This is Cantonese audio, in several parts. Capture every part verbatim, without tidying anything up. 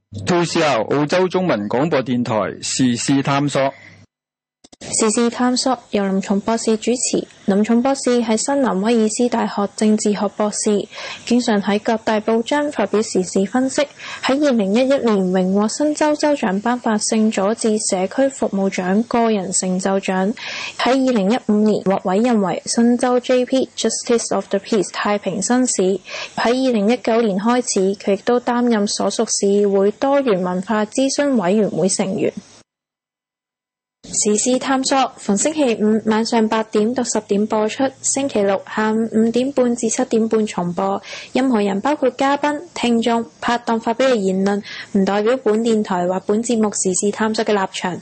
To C R 澳洲中文廣播電台時事探索。 時事探索由林松博士主持。林松博士係新南威爾斯大學政治學博士，經常喺各大報章發表時事分析。喺二零一一年榮獲新州州長頒發聖佐治社區服務獎個人成就獎。喺二零一五年獲委任為新州 J P Justice of the Peace 太平紳士。喺二零一九年開始，佢亦都擔任所屬市議會多元文化諮詢委員會成員。時事探索逢星期五晚上八點到十點播出，星期六下午五點半至七點半重播。任何人包括嘉賓、聽眾、拍檔發表嘅言論，唔代表本電台或本節目時事探索嘅立場。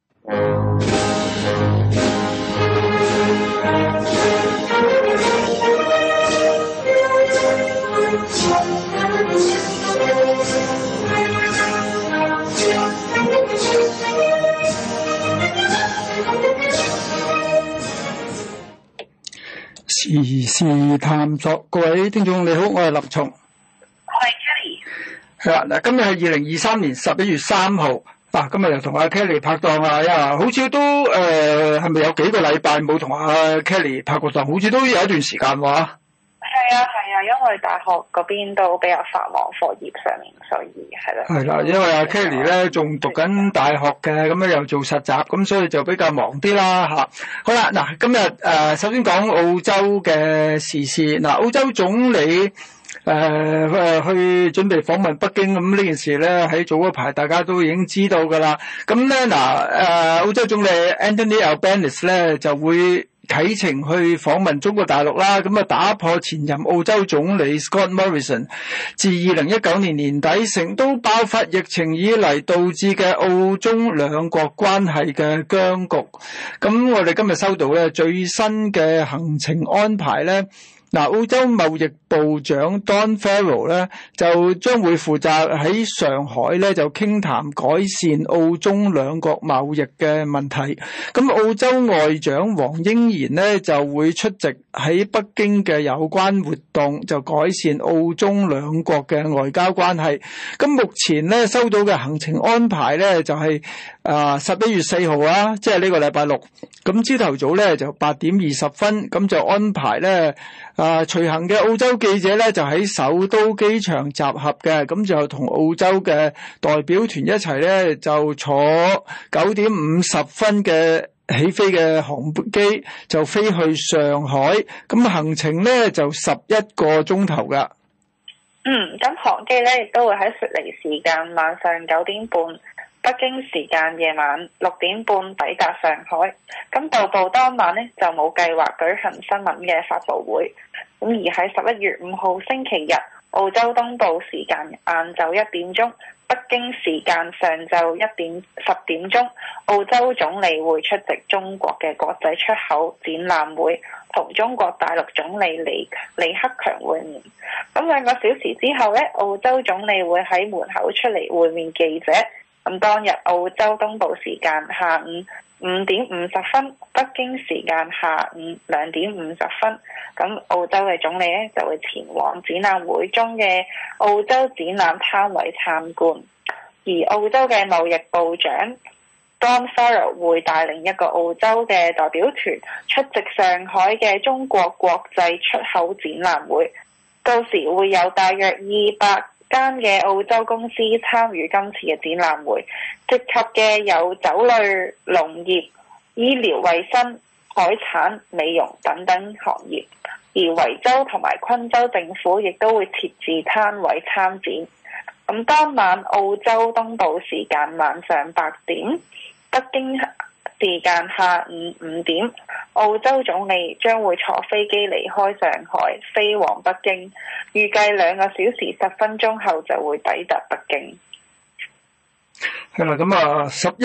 時事探索，各位聽眾你好，我係立松， 我係 Kelly。 係啦，嗱，今日係二零二三年十一月三號，嗱，今日又同阿 Kelly 拍檔啊，呀，好似都誒係咪有幾個禮拜冇同阿 Kelly 拍過檔？好似都有一段時間喎。 係啊係啊，因為大學嗰邊都比較繁忙，課業上面，所以係啦。係啦， 因為阿 Kelly 咧仲讀緊大學嘅，咁樣又做實習，咁所以就比較忙啲啦嚇。好啦，嗱，今日誒、呃、首先講澳洲嘅時事。嗱，澳洲總理誒、呃、去準備訪問北京，咁呢件事咧喺早嗰排大家都已經知道㗎啦。咁咧嗱誒澳洲總理 Anthony Albanese 咧就會啟程去訪問中國大陸啦，咁啊打破前任澳洲總理 Scott Morrison 自二零一九年年底成都爆發疫情以嚟導致嘅澳中兩國關係嘅僵局。咁我哋今日收到咧最新嘅行程安排咧。嗱，澳洲貿易部長 Don Farrell 咧就將會負責喺上海咧就傾談改善澳中兩國貿易嘅問題。咁澳洲外長黃英賢咧就會出席喺北京嘅有關活動，就改善澳中兩國嘅外交關係。咁目前咧收到嘅行程安排咧就係啊十一月四號啊，即係呢個禮拜六。咁朝頭早咧就八點二十分，咁就安排咧。啊，隨行嘅澳洲記者咧就喺首都機場集合嘅，咁就同澳洲嘅代表團一齊咧就坐九點五十分嘅起飛嘅航機就飛去上海，咁行程咧就十一個鐘頭噶。 嗯，咁航機咧亦都會喺悉尼時間晚上九點半，北京時間夜晚六點半抵達上海。咁到埗當晚呢，就冇計劃舉行新聞嘅發佈會。咁而喺十一月五號星期日，澳洲東部時間晏晝一點鐘，北京時間上晝一點十點鐘，澳洲總理會出席中國嘅國際出口展覽會，同中國大陸總理李李克強會面。咁兩個小時之後呢，澳洲總理會喺門口出嚟會面記者。咁當日澳洲東部時間下午五點五十分，北京時間下午兩點五十分，咁澳洲嘅總理咧就會前往展覽會中嘅澳洲展覽攤位參觀，而澳洲嘅貿易部長 Don Farrell 會帶領一個澳洲嘅代表團出席上海嘅中國國際出口展覽會，到時會有大約二百間嘅澳洲公司參與今次嘅展覽會，涉及嘅有酒類、農業、醫療衛生、海產、美容等等行業，而維州同埋昆州政府亦都會設置攤位參展。咁當晚澳洲東部時間晚上八點，北京時間下午五點，澳洲總理將會坐飛機離開上海，飛往北京，預計兩個小時十分鐘後就會抵達北京。 係啦，咁啊十一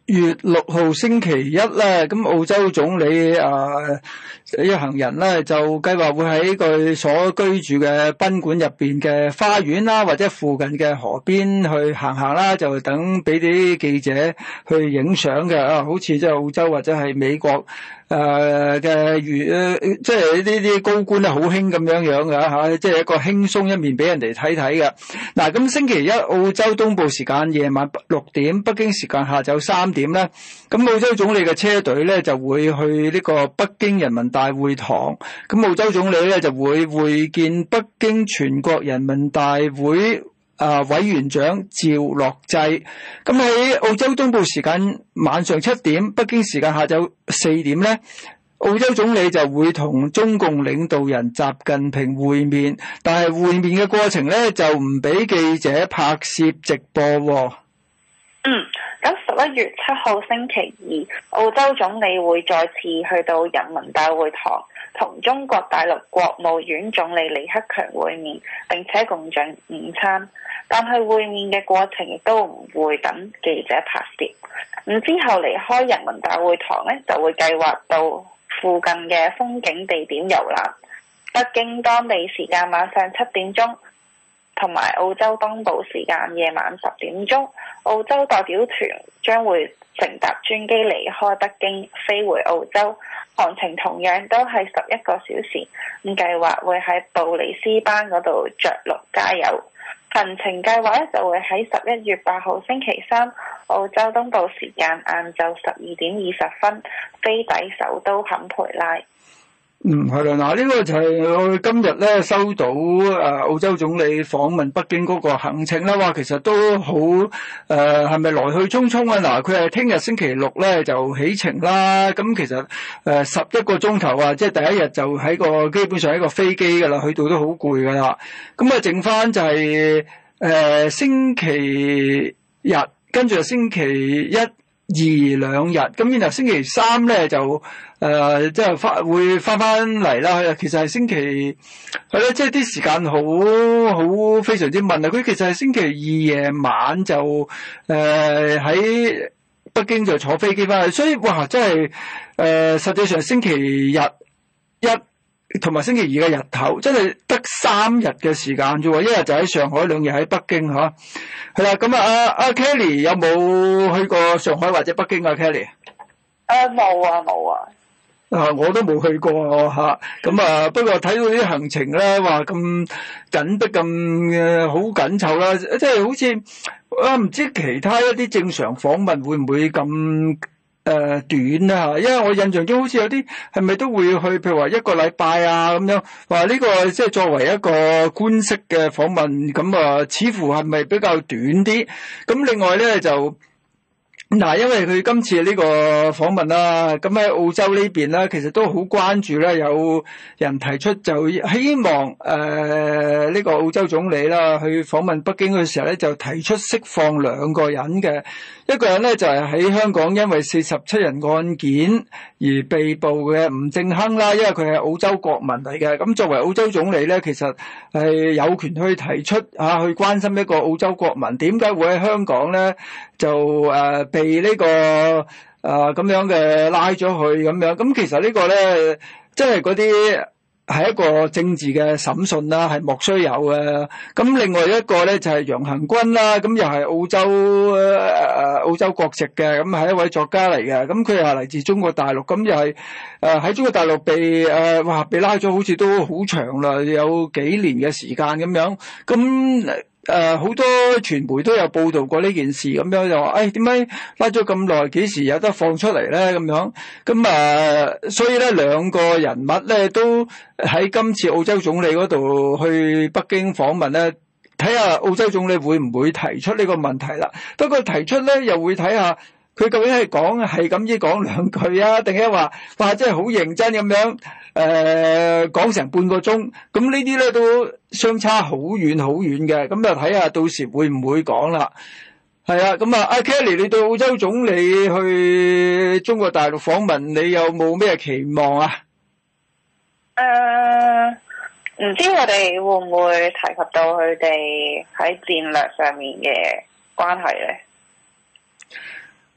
月六號星期一咧，咁澳洲總理啊一行人咧就計劃會喺佢所居住嘅賓館入邊嘅花園啦，或者附近嘅河邊去行行啦，就等俾啲記者去影相嘅啊，好似即係澳洲或者係美國誒嘅如即係呢啲高官咧好興咁樣樣嘅嚇，即係一個輕鬆一面俾人哋睇睇嘅。嗱，咁星期一澳洲東部時間夜晚六點，北京時間下晝三點咧，咁澳洲總理嘅車隊咧就會去呢個北京人民大會堂，咁澳洲總理咧就會會見北京全國人民大會啊委員長趙樂際。咁喺澳洲東部時間晚上七點，北京時間下晝四點咧，澳洲總理就會同中共領導人習近平會面，但係會面嘅過程咧就唔俾記者拍攝直播喎。 嗯，咁十一月七號星期二，澳洲總理會再次去到人民大會堂，同中國大陸國務院總理李克強會面，並且共進午餐。但係會面嘅過程亦都唔會等記者拍攝。咁之後離開人民大會堂呢，就會計劃到附近嘅風景地點遊覽。北京當地時間晚上七點鐘，同埋澳洲東部時間夜晚十點鐘，澳洲代表團將會乘搭專機離開北京，飛回澳洲，航程同樣都係十一個小時。咁計劃會喺布里斯班嗰度着陸加油。行程計劃咧就會喺十一月八號星期三，澳洲東部時間晏晝十二點二十分飛抵首都坎培拉。 嗯，係啦，嗱，呢個就係我哋今日咧收到誒、呃、澳洲總理訪問北京嗰個行程啦。哇，其實都好誒，係咪來去匆匆啊？嗱，佢係聽日星期六咧就起程啦。咁其實誒十一個鐘頭啊，即係第一日就喺個基本上喺個飛機噶啦，去到都好攰噶啦。咁啊，剩翻就係、是、誒、呃、星期日，跟住星期一、二兩日，咁然後星期三咧就誒即係翻會翻翻嚟啦。其實係星期係咯，即係啲時間好好非常之密啊。佢其實係星期二夜晚就誒喺、呃、北京就坐飛機翻去，所以哇真係誒、呃、實際上星期日一同埋星期二嘅日頭真係得三日嘅時間啫喎，一日就喺上海，兩日喺北京嚇。係啦，咁啊，阿阿 Kelly 有冇去過上海或者北京啊 Kelly？ 誒冇啊冇啊。 啊，我都冇去過嚇。咁啊，不過睇到啲行程咧，話咁緊迫咁誒好緊湊啦，即係好似啊唔知其他一啲正常訪問會唔會咁？誒、呃，短啦，因為我印象中好似有啲係咪都會去，譬如話一個禮拜啊咁樣，話呢個即係作為一個官式嘅訪問，咁啊，似乎係咪比較短啲？咁另外咧就。嗱，因為佢今次呢個訪問啦，咁喺澳洲呢邊咧，其實都好關注咧，有人提出就希望誒呢、呃這個澳洲總理啦去訪問北京嘅時候咧，就提出釋放兩個人嘅，一個人咧就係、是、喺香港因為四十七人案件而被捕嘅吳政亨啦，因為佢係澳洲國民嚟嘅，咁作為澳洲總理咧，其實係有權去提出啊去關心一個澳洲國民點解會喺香港咧就誒、呃被呢、這個誒咁、呃、樣嘅拉咗去咁樣，咁其實呢個咧，即係嗰啲係一個政治嘅審訊啦，係莫須有嘅。咁另外一個咧就係、是、楊恆均啦，咁又係澳洲誒、呃、澳洲國籍嘅，咁係一位作家嚟嘅。咁佢又係嚟自中國大陸，咁又係誒喺中國大陸被誒、呃、哇被拉咗，好似都好長啦，有幾年嘅時間咁樣。咁誒，好、呃、多傳媒都有報道過呢件事，咁樣就話，誒，點解拉咗咁耐，幾時有得放出嚟咧？咁樣，咁啊、呃，所以咧，兩個人物咧都喺今次澳洲總理嗰度去北京訪問咧，睇下澳洲總理會唔會提出呢個問題啦。不過提出咧，又會睇下佢究竟係講係咁依講兩句啊，定係話話真係好認真咁樣。誒，講成、呃、半個鐘，咁呢啲咧都相差好遠好遠嘅，咁就睇下到時會唔會講啦。係啊，咁啊，阿 Kelly，你對澳洲總理去中國大陸訪問，你有冇咩期望啊？ 誒、呃，唔知我哋會唔會提及到佢哋喺戰略上面嘅關係咧？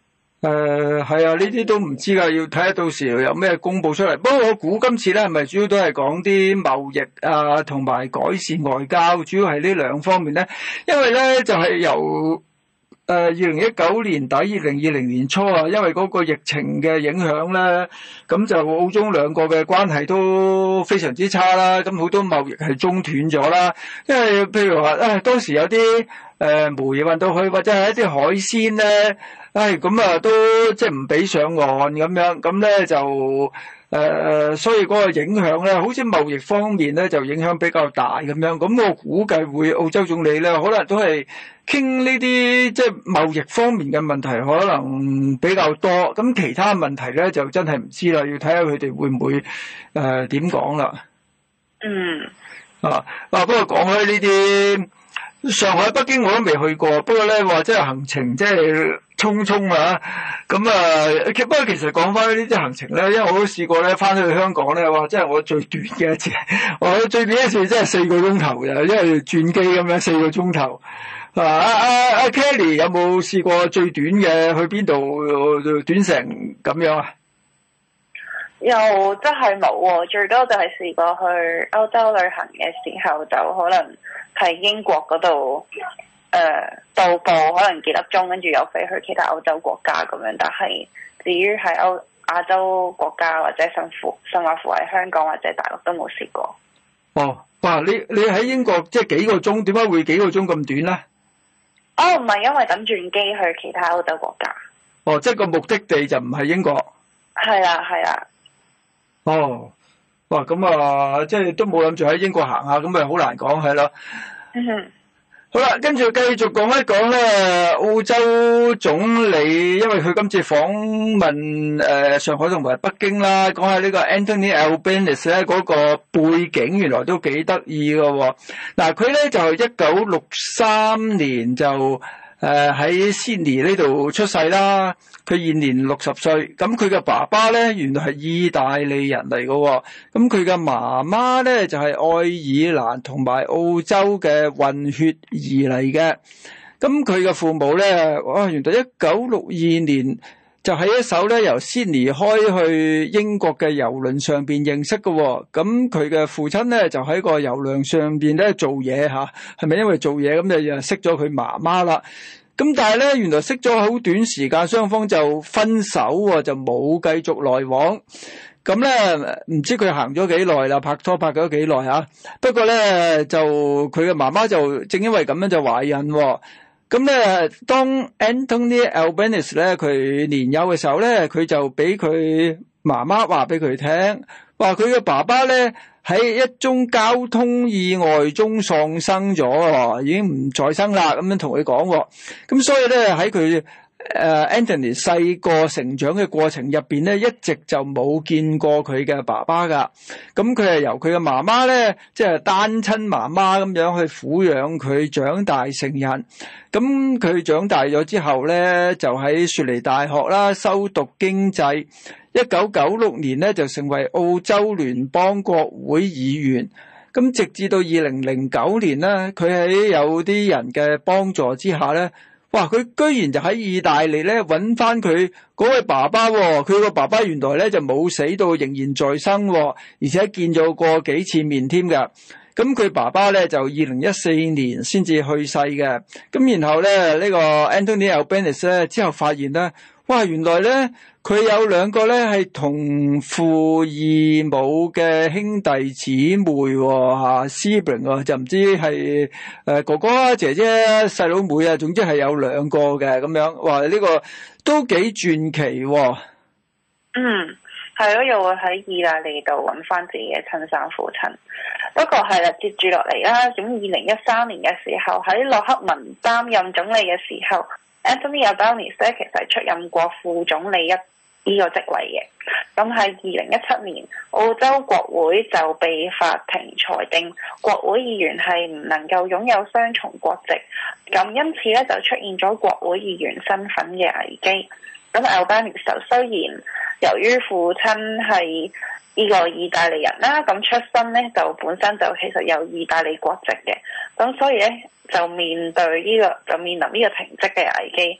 誒係啊，呢啲都唔知㗎，要睇下到時有咩公佈出嚟。不過我估今次咧係咪主要都係講啲貿易啊，同埋改善外交，主要係呢兩方面咧。因為咧就係、是、由誒二零一九年底、二零二零年初啊，因為嗰個疫情嘅影響咧，咁就澳中兩個嘅關係都非常之差啦。咁好多貿易係中斷咗啦。因為譬如話啊、哎，當時有啲誒、呃、煤運到去，或者係一啲海鮮咧。唉，咁啊，都即係唔俾上岸咁樣，咁咧就誒、呃，所以嗰個影響咧，好似貿易方面咧就影響比較大咁樣。咁我估計會澳洲總理咧，可能都係傾呢啲即係貿易方面嘅問題，可能比較多。咁其他問題咧就真係唔知啦，要睇下佢哋會唔會誒點講啦。 嗯。 啊啊，不過講開呢啲。上海、北京我都未去過，不過咧話即係行程即係匆匆啊，咁啊，不過其實講翻呢啲行程咧，因為我都試過咧翻去香港咧，話即係我最短嘅一次，我最短一次真係四個鐘頭嘅，因為轉機咁樣四個鐘頭。啊啊啊 Kelly 有冇試過最短嘅去邊度短程咁樣啊？ 又真係冇喎，最多就係試過去歐洲旅行嘅時候，就可能喺英國嗰度誒到埗，可能幾粒鐘，跟住又飛去其他歐洲國家咁樣。但係至於喺歐亞洲國家或者甚乎甚或乎喺香港或者大陸都冇試過。 哦，哇！你你喺英國即係幾個鐘？點解會幾個鐘咁短咧？ 哦，唔係因為等轉機去其他歐洲國家。 哦，即係個目的地就唔係英國。 係啦，係啦。 哦，哇，咁啊，即係都冇諗住喺英國行下，咁咪好難講係咯。 嗯哼。 好啦，跟住繼續講一講咧，澳洲總理，因為佢今次訪問誒、呃、上海同埋北京啦，講下呢個 Anthony Albanese 咧嗰個背景，原來都幾得意㗎喎。嗱，佢咧就一九六三年就。誒喺悉尼呢度出世啦，佢現年六十歲。咁佢嘅爸爸咧原來係意大利人嚟嘅喎，咁佢嘅媽媽咧就係、是、愛爾蘭同埋澳洲嘅混血兒嚟嘅。咁佢嘅父母咧，哇，原來一九六二年就喺一艘咧由悉尼開去英國嘅郵輪上邊認識嘅喎。咁佢嘅父親咧就喺個郵輪上邊咧做嘢嚇，係咪因為做嘢咁就又識咗佢媽媽啦？咁但係咧，原來識咗好短時間，雙方就分手喎，就冇繼續來往。咁咧，唔知佢行咗幾耐啦，拍拖拍咗幾耐啊？不過咧，就佢嘅媽媽就正因為咁樣就懷孕喎。咁咧，當 Anthony Albanese 咧佢年幼嘅時候咧，佢就俾佢媽媽話俾佢聽，話佢嘅爸爸咧喺一宗交通意外中喪生咗，已經唔再生啦。咁樣同佢講，咁所以咧喺佢誒 Anthony 細個成長嘅過程入邊咧，一直就冇見過佢嘅爸爸噶。咁佢係由佢嘅媽媽咧，即係單親媽媽咁樣去撫養佢長大成人。咁佢長大咗之後咧，就喺雪梨大學啦修讀經濟。一九九六年咧就成為澳洲聯邦國會議員。咁直至到二零零九年咧，佢喺有啲人嘅幫助之下咧。哇！佢居然就喺意大利咧揾翻佢嗰位爸爸喎、哦，佢個爸爸原來咧就冇死到，仍然在生、哦，而且見咗過幾次面添㗎。咁佢爸爸咧就二零一四年先至去世嘅。咁然後咧呢、呢個 Anthony Albanese 咧之後發現咧，哇！原來咧佢有兩個咧係同父異母嘅兄弟姊妹喎嚇 sibling 啊，就唔知係誒哥哥啊、姐姐啊、細佬妹啊，總之係有兩個嘅咁樣。哇！呢、呢個都幾傳奇喎。 嗯，係咯，又會喺意大利度揾翻自己嘅親生父親。不過係啦，接住落嚟啦，咁二零一三年嘅時候喺洛克文擔任總理嘅時候。Anthony Albanese 咧其實係出任過副總理一呢個職位嘅，咁喺二零一七年澳洲國會就被法庭裁定國會議員係唔能夠擁有雙重國籍，咁因此咧就出現咗國會議員身份嘅危機。咁 Albanese 就雖然由於父親係呢個意大利人啦，咁出身咧就本身就其實有意大利國籍嘅，咁所以咧就面對呢、這個就面臨呢個停職嘅危機。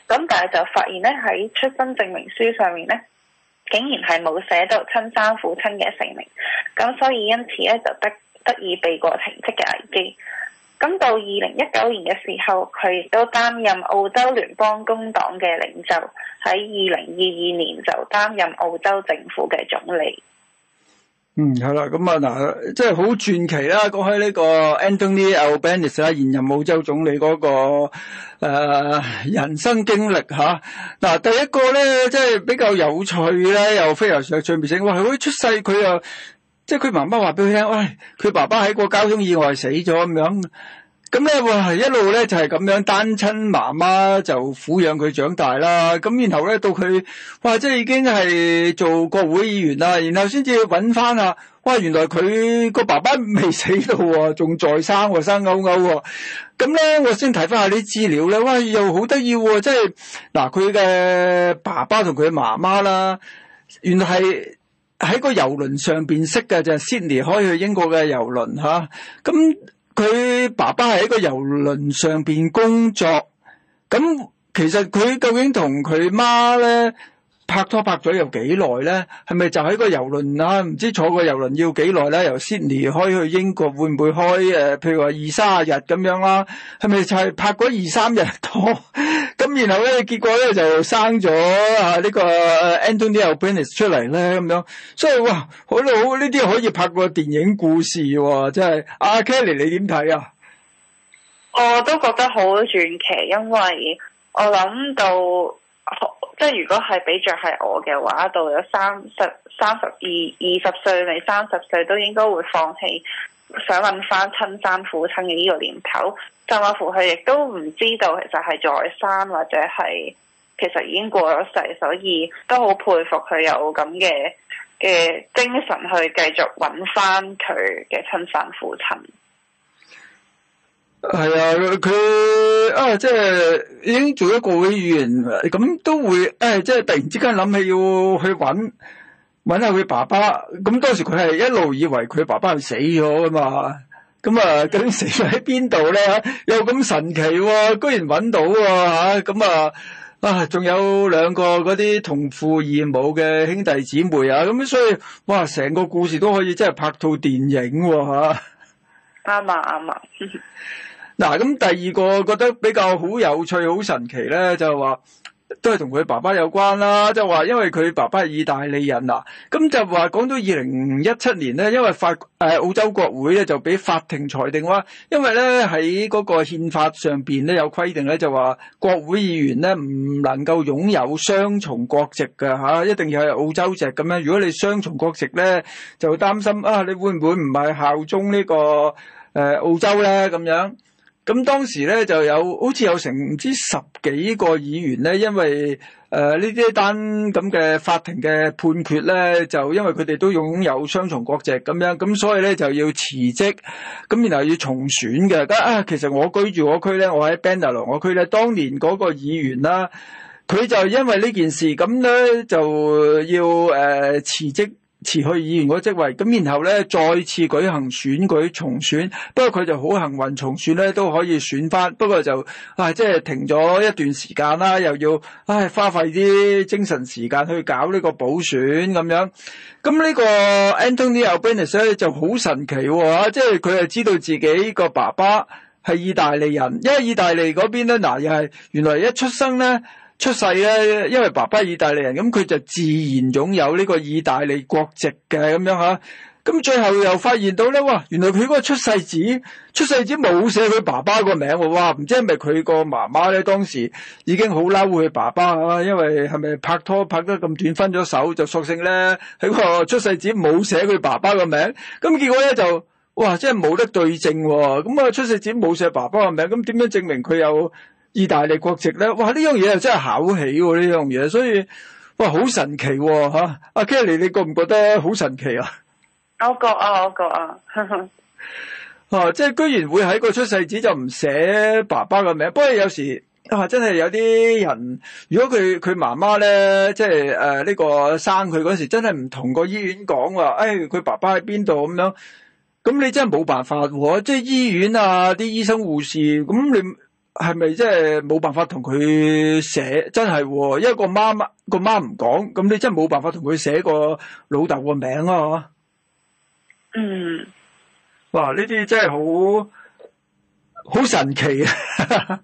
咁但係就發現咧喺出生證明書上面咧，竟然係冇寫到親生父親嘅姓名，咁所以因此咧就得得以避過停職嘅危機。咁到二零一九年嘅時候，佢亦都擔任澳洲聯邦工黨嘅領袖，喺二零二二年就擔任澳洲政府嘅總理。 嗯，係啦，咁啊嗱，即係好傳奇啦。講開呢個 Anthony Albanese 啦，現任澳洲總理嗰、那個誒、呃、人生經歷吓。嗱、啊，第一個咧，即係比較有趣咧，又非常上趣味性。哇，佢出世佢又，即係佢媽媽話俾佢聽，喂，佢爸爸喺個交通意外死咗咁樣。咁咧，哇，一路咧就係、是、咁樣單親媽媽就撫養佢長大啦。咁然後咧到佢，哇，即係已經係做國會議員啦。然後先至揾翻啊，哇，原來佢個爸爸未死到喎，仲在生喎，生勾勾喎。咁咧，我先睇翻下啲資料咧，哇，又好得意喎。即係嗱，佢嘅爸爸同佢媽媽啦，原來係喺個郵輪上邊識嘅，就係 Sydney 開去英國嘅郵輪吓。咁佢爸爸係喺個郵輪上邊工作，咁其實佢究竟同佢媽咧拍拖拍咗有幾耐咧？係咪就喺個郵輪啊？唔知坐個郵輪要幾耐咧？由 Sydney 開去英國會唔會開誒？譬如話二三十日咁樣啦？係咪就係拍嗰二三日拖？咁然後咧，結果咧就生咗啊呢個 Anthony Albanese 出嚟咧咁樣，所以哇，好好呢啲可以拍個電影故事喎，真係。阿 Kelly 你點睇啊？ 我都覺得好傳奇，因為我諗到，即係如果係比着係我嘅話，到咗三十、三十二、二十歲未三十歲，都應該會放棄想揾翻親生父親嘅呢個念頭。甚至乎佢亦都唔知道其實係在生或者係其實已經過咗世，所以都好佩服佢有咁嘅嘅精神去繼續揾翻佢嘅親生父親。 係啊，佢啊即係已經做咗國會議員，咁都會誒、哎、即係突然之間諗起要去揾揾下佢爸爸。咁當時佢係一路以為佢爸爸係死咗噶嘛。咁啊，究竟死咗喺邊度咧？又咁神奇喎、啊，居然揾到喎嚇！咁啊啊，仲有兩個嗰啲同父異母嘅兄弟姊妹啊！咁所以哇，成個故事都可以真係拍套電影喎、啊、嚇！ 啱啊啱啊！ 嗱，咁第二個覺得比較好有趣、好神奇咧，就係話，都係同佢爸爸有關啦，就話因為佢爸爸係意大利人啊，咁就話講到二零一七年咧，因為法誒、呃、澳洲國會咧就俾法庭裁定話，因為咧喺嗰個憲法上邊咧有規定咧，就話國會議員咧唔能夠擁有雙重國籍嘅吓、啊，一定要係澳洲籍咁樣。如果你雙重國籍咧，就擔心啊，你會唔會唔係效忠呢、這個誒、呃、澳洲咧咁樣？咁當時咧就有好似有成唔知十幾個議員咧，因為誒呢啲單咁嘅法庭嘅判決咧，就因為佢哋都擁有雙重國籍咁樣，咁所以咧就要辭職，咁然後要重選嘅。啊，其實我居住嗰區咧，我喺 Bendalong 嗰區咧，當年嗰個議員啦，佢就因為呢件事咁咧就要誒、呃、辭職。辭去議員嗰職位，咁然後咧再次舉行選舉重選，不過佢就好幸運重選咧都可以選翻，不過就啊即係停咗一段時間啦，又要唉花費啲精神時間去搞呢個補選咁樣。咁呢個 Anthony Albanese 咧就好神奇喎，即係佢係知道自己個爸爸係意大利人，因為意大利嗰邊咧嗱又係原來一出生咧。出世咧，因為爸爸係意大利人，咁佢就自然擁有呢個意大利國籍嘅咁樣吓。咁最後又發現到咧，哇！原來佢嗰個出世紙，出世紙冇寫佢爸爸個名喎，哇！唔知係咪佢個媽媽咧當時已經好嬲佢爸爸啊，因為係咪拍拖拍得咁短分咗手，就索性咧喺個出世紙冇寫佢爸爸個名，咁結果咧就哇，真係冇得對證喎。咁啊，出世紙冇寫爸爸個名，咁點樣證明佢有意大利國籍咧？哇！呢樣嘢又真係考起喎，呢樣嘢，所以哇，好神奇喎嚇！阿 Kelly，你覺唔覺得好神奇啊？ 我覺啊，我覺啊， 啊，即係居然會喺個出世紙就唔寫爸爸嘅名。不過有時啊，真係有啲人，如果佢佢媽媽咧，即係誒呢個生佢嗰時，真係唔同個醫院講話，誒、哎、佢爸爸喺邊度咁樣，咁你真係冇辦法喎。即係醫院啊，啲醫生護士，咁你。 係咪即係冇辦法同佢寫？真係、哦，因為個媽媽個媽唔講，咁你真係冇辦法同佢寫個老豆個名啊！ 嗯， 哇！呢啲真係好好神奇啊！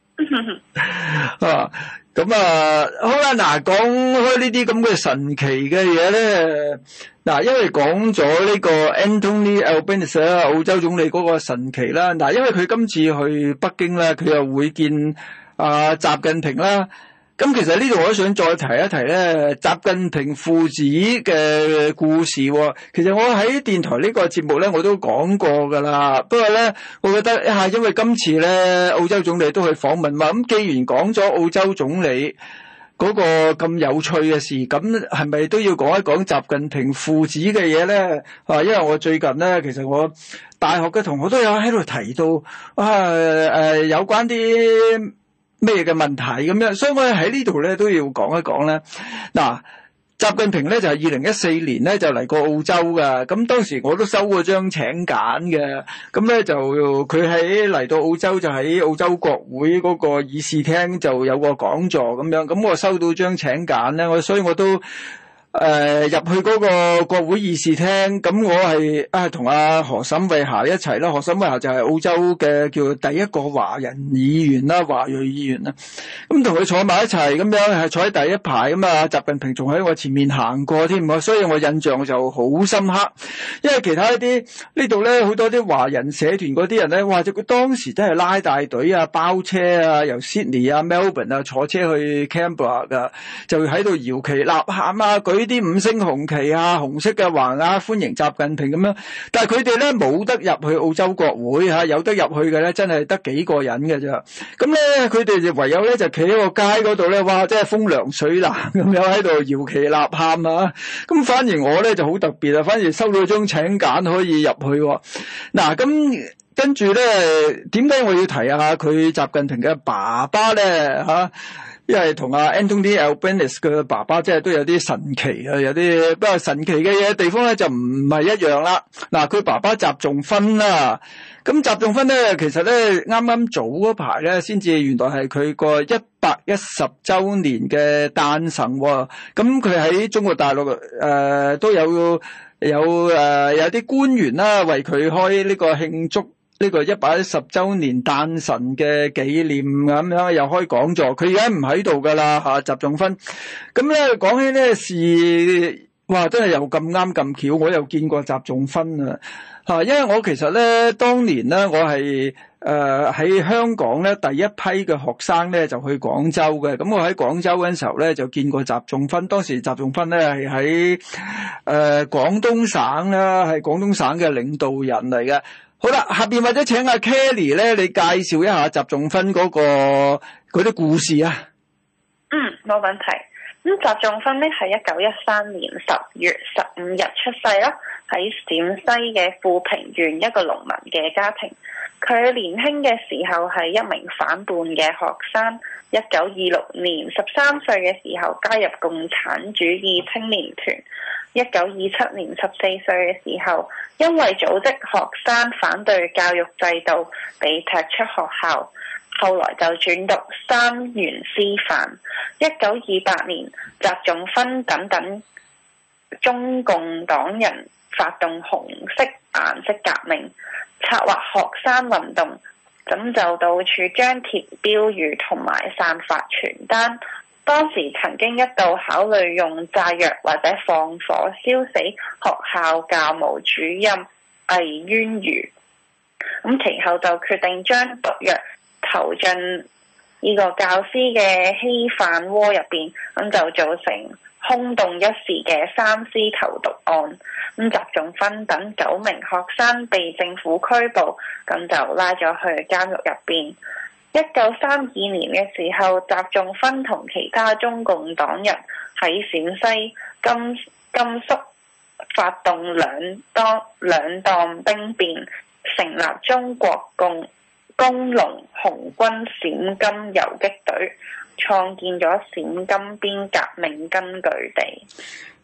啊，咁啊，好啦，嗱，講開呢啲咁嘅神奇嘅嘢咧，嗱，因為講咗呢個 Anthony Albanese 啦，澳洲總理嗰個神奇啦，嗱，因為佢今次去北京咧，佢又會見啊習近平啦。咁其實呢度我都想再提一提咧，習近平父子嘅故事喎。其實我喺電台呢個節目咧，我都講過噶啦。不過咧，我覺得啊，因為今次咧澳洲總理都去訪問嘛，咁既然講咗澳洲總理嗰個咁有趣嘅事，咁係咪都要講一講習近平父子嘅嘢咧？啊，因為我最近咧，其實我大學嘅同學都有喺度提到啊，誒、呃，有關啲咩嘅問題咁樣，所以我喺呢度咧都要講一講咧。嗱，習近平咧就係二零一四年咧就嚟過澳洲噶，咁當時我都收過張請柬嘅，咁咧就佢喺嚟到澳洲就喺澳洲國會嗰個議事廳就有個講座咁樣，咁我收到張請柬咧，我所以我都誒、呃，入去嗰個國會議事廳，咁我係啊同阿何沈慧霞一齊啦。何沈慧霞就係澳洲嘅叫第一個華人議員啦，華裔議員啦。咁同佢坐埋一齊，咁樣係坐喺第一排咁啊。習近平仲喺我前面行過添，所以我印象就好深刻。因為其他一啲呢度咧，好多啲華人社團嗰啲人咧，哇！佢當時真係拉大隊啊，包車啊，由 Sydney 啊、Melbourne 啊坐車去 Canberra 噶，就喺度搖旗吶喊啊，舉啲五星紅旗啊，紅色嘅橫額歡迎習近平咁樣，但係佢哋咧冇得入去澳洲國會吓，有得入去嘅咧真係得幾個人嘅咋。咁咧佢哋就唯有咧就企喺個街嗰度咧，哇！真係風涼水冷咁樣喺度搖旗吶喊啊。咁反而我咧就好特別啊，反而收到張請柬可以入去。嗱，咁跟住咧，點解我要提下佢習近平嘅爸爸咧吓？因為同阿 Anthony Albanese 嘅爸爸即係都有啲神奇啊，有啲不過神奇嘅嘢地方咧就唔係一樣啦。嗱，佢爸爸習仲勳啦，咁習仲勳咧其實咧啱啱早嗰排咧先至原來係佢個一百一十周年嘅誕辰喎。咁佢喺中國大陸誒、呃、都有有誒、呃、有啲官員啦為佢開呢個慶祝呢個一百一十周年誕辰嘅紀念咁樣，又開講座。佢而家唔喺度噶啦吓，習仲勳。咁咧講起呢事，哇，真係又咁啱咁巧，我又見過習仲勳啊吓。因為我其實咧當年咧，我係誒喺香港咧第一批嘅學生咧就去廣州嘅。咁我喺廣州嗰陣時候咧就見過習仲勳。當時習仲勳咧係喺誒廣東省啦，係廣東省嘅領導人嚟嘅。好啦，下邊或者請阿 Kelly 咧，你介紹一下習仲勳嗰個嗰啲故事啊。 嗯，冇問題。咁習仲勳咧係一九一三年十月十五日出世啦，喺陝西嘅富平縣一個農民嘅家庭。佢年輕嘅時候係一名反叛嘅學生。一九二六年十三歲嘅時候加入共產主義青年團。一九二七年十四歲嘅時候，因為組織學生反對教育制度，被踢出學校。後來就轉讀三原師範。一九二八年，習仲勳等等中共黨人發動紅色顏色革命，策劃學生運動，咁就到處張貼標語同埋散發傳單。當時曾經一度考慮用炸藥或者放火燒死學校教務主任魏淵瑜，咁其後就決定將毒藥投進呢個教師嘅稀飯鍋入邊，咁就造成轟動一時嘅三獅投毒案。咁習仲勳等九名學生被政府拘捕，咁就拉咗去監獄入邊。一九三二年嘅時候，習仲勳同其他中共黨人喺陝西、甘甘肅發動兩當兩黨兵變，成立中國共工農紅軍陝甘游擊隊，創建咗陝甘邊革命根據地。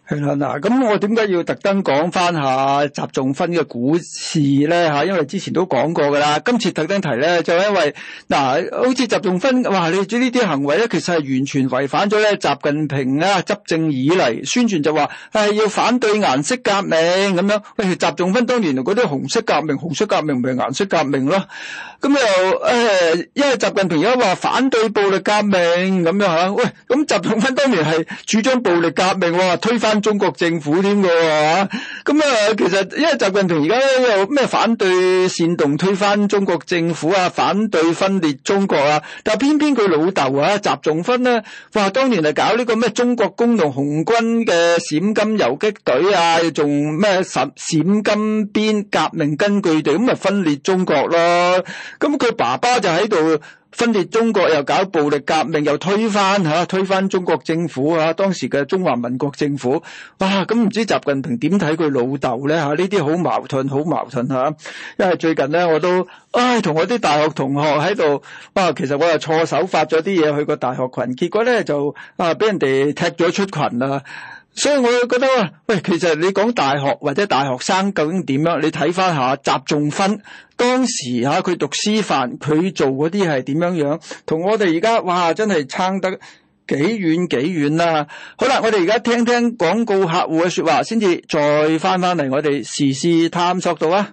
係啦，嗱，咁我點解要特登講翻下習仲勳嘅故事咧吓？因為之前都講過噶啦，今次特登提咧，就係因為嗱，好似習仲勳，哇，你知呢啲行為咧，其實係完全違反咗咧習近平啊執政以嚟宣傳就話係要反對顏色革命咁樣。喂，習仲勳當年嗰啲紅色革命，紅色革命咪顏色革命咯。咁又誒，因為習近平而家話反對暴力革命咁樣吓，喂，咁習仲勳當年係主張暴力革命，話推翻中國政府添㗎喎，咁啊，其實因為習近平而家又咩反對煽動推翻中國政府啊，反對分裂中國啊，但係偏偏佢老豆啊，習仲勳咧，話當年係搞呢個咩中國工農紅軍嘅陝甘游擊隊啊，仲咩陝陝甘邊革命根據地，咁咪分裂中國咯。咁佢爸爸就喺度分裂中國，又搞暴力革命，又推翻吓，推翻中國政府啊，當時嘅中華民國政府。哇，咁唔知習近平點睇佢老豆咧吓？呢啲好矛盾，好矛盾吓。因為最近咧，我都唉同我啲大學同學喺度，哇，其實我又錯手發咗啲嘢去個大學群，結果咧就啊俾人哋踢咗出群啦。所以我覺得啊，喂，其實你講大學或者大學生究竟點樣？你睇翻下習仲勳當時吓佢讀師範，佢做嗰啲係點樣樣，同我哋而家哇真係差得幾遠幾遠啦。好啦，我哋而家聽聽廣告客戶嘅說話，先至再翻翻嚟我哋時事探索度啊。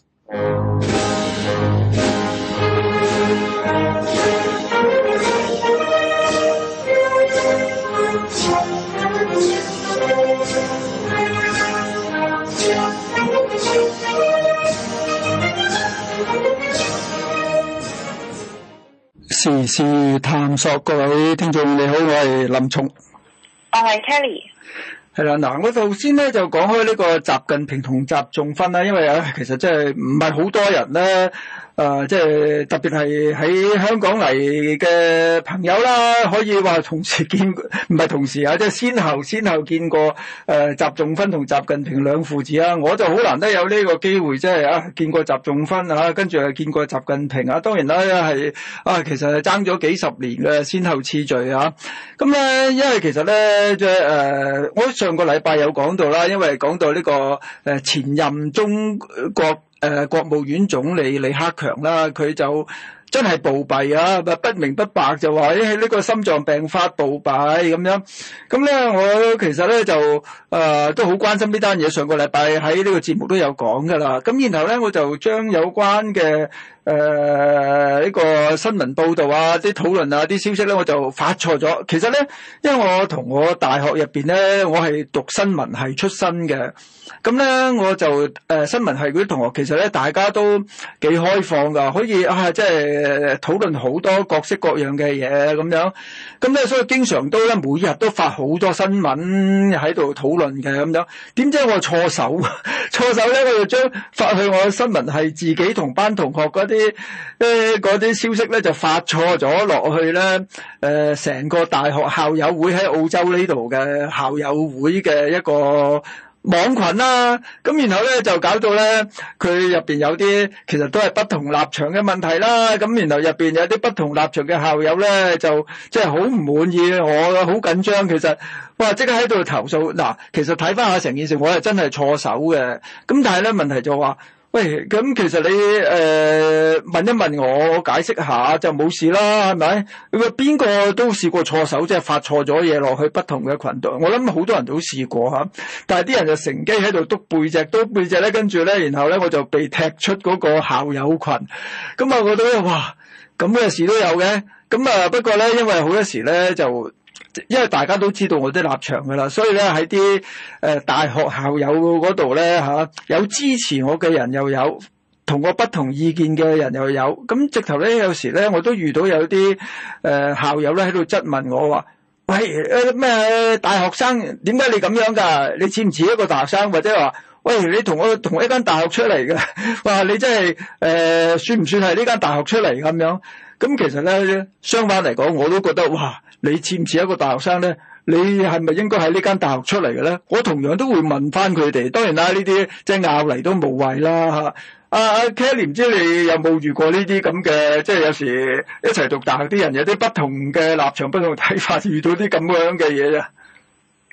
時事探索，各位聽眾你好，我係林松， 我係 Kelly。 係啦，嗱，我頭先咧就講開呢個習近平同習仲勳啦，因為啊，其實真係唔係好多人咧。誒、呃，即係特別係喺香港嚟嘅朋友啦，可以話同時見，唔係同時啊，即係先後先後見過誒、呃、習仲勳同習近平兩父子啊，我就好難得有呢個機會，即係啊見過習仲勳啊，跟住又見過習近平啊，當然啦係啊，其實係爭咗幾十年嘅先後次序啊，咁咧，因為其實咧即係誒，我上個禮拜有講到啦，因為講到呢、這個誒、呃、前任中國。誒、呃，國務院總理李克強啦，佢就真係暴斃啊，不明不白就話誒呢個心臟病發暴斃咁樣。咁咧，我其實咧就誒、呃、都好關心呢單嘢。上個禮拜喺呢個節目都有講噶啦。咁然後咧，我就將有關嘅誒呢個新聞報道啊、啲討論啊、啲消息咧，我就發錯咗。其實咧，因為我同我大學入邊咧，我係讀新聞系出身嘅。咁咧，我就誒、呃、新聞系嗰啲同學，其實咧大家都幾開放噶，可以啊，即係討論好多各式各樣嘅嘢咁樣。咁咧，所以經常都咧每日都發好多新聞喺度討論嘅咁樣。點知我錯手，錯手咧，我就將發去我新聞系自己同班同學嗰啲誒嗰啲消息咧，就發錯咗落去咧。誒、呃，成個大學校友會喺澳洲呢度嘅校友會嘅一個網群啦，咁然後咧就搞到咧佢入邊有啲其實都係不同立場嘅問題啦，咁然後入邊有啲不同立場嘅校友咧就即係好唔滿意，我好緊張，其實哇即刻喺度投訴。嗱，其實睇翻下成件事，我係真係錯手嘅，咁但係咧問題就話，喂，咁其實你誒、呃、問一問我，我解釋下就冇事啦，係咪？咁啊邊個都試過錯手，即係發錯咗嘢落去不同嘅群度。我諗好多人都試過吓，但係啲人就乘機喺度督背脊，督背脊咧，跟住咧，然後咧我就被踢出嗰個校友群。咁啊，我覺得哇，咁嘅事都有嘅。咁啊，不過咧，因為好多時咧就。因為大家都知道我啲立場噶啦，所以咧喺啲誒大學校友嗰度咧吓，有支持我嘅人又有，同我不同意見嘅人又有。咁直頭咧有時咧我都遇到有啲誒、呃、校友咧喺度質問我話，喂誒咩、呃、大學生點解你咁樣噶？你似唔似一個大學生？或者話喂你同我同一間大學出嚟嘅，哇你真係誒、呃、算唔算係呢間大學出嚟咁樣？咁其實咧相反嚟講，我都覺得哇。你似唔似一個大學生咧？你係咪應該喺呢間大學出嚟嘅咧？我同樣都會問翻佢哋。當然啦，呢啲即係拗嚟都無謂啦嚇。阿阿 Kelly 唔知你有冇遇過呢啲咁嘅，即係有時一齊讀大學啲人有啲不同嘅立場、不同睇法，遇到啲咁樣嘅嘢啊？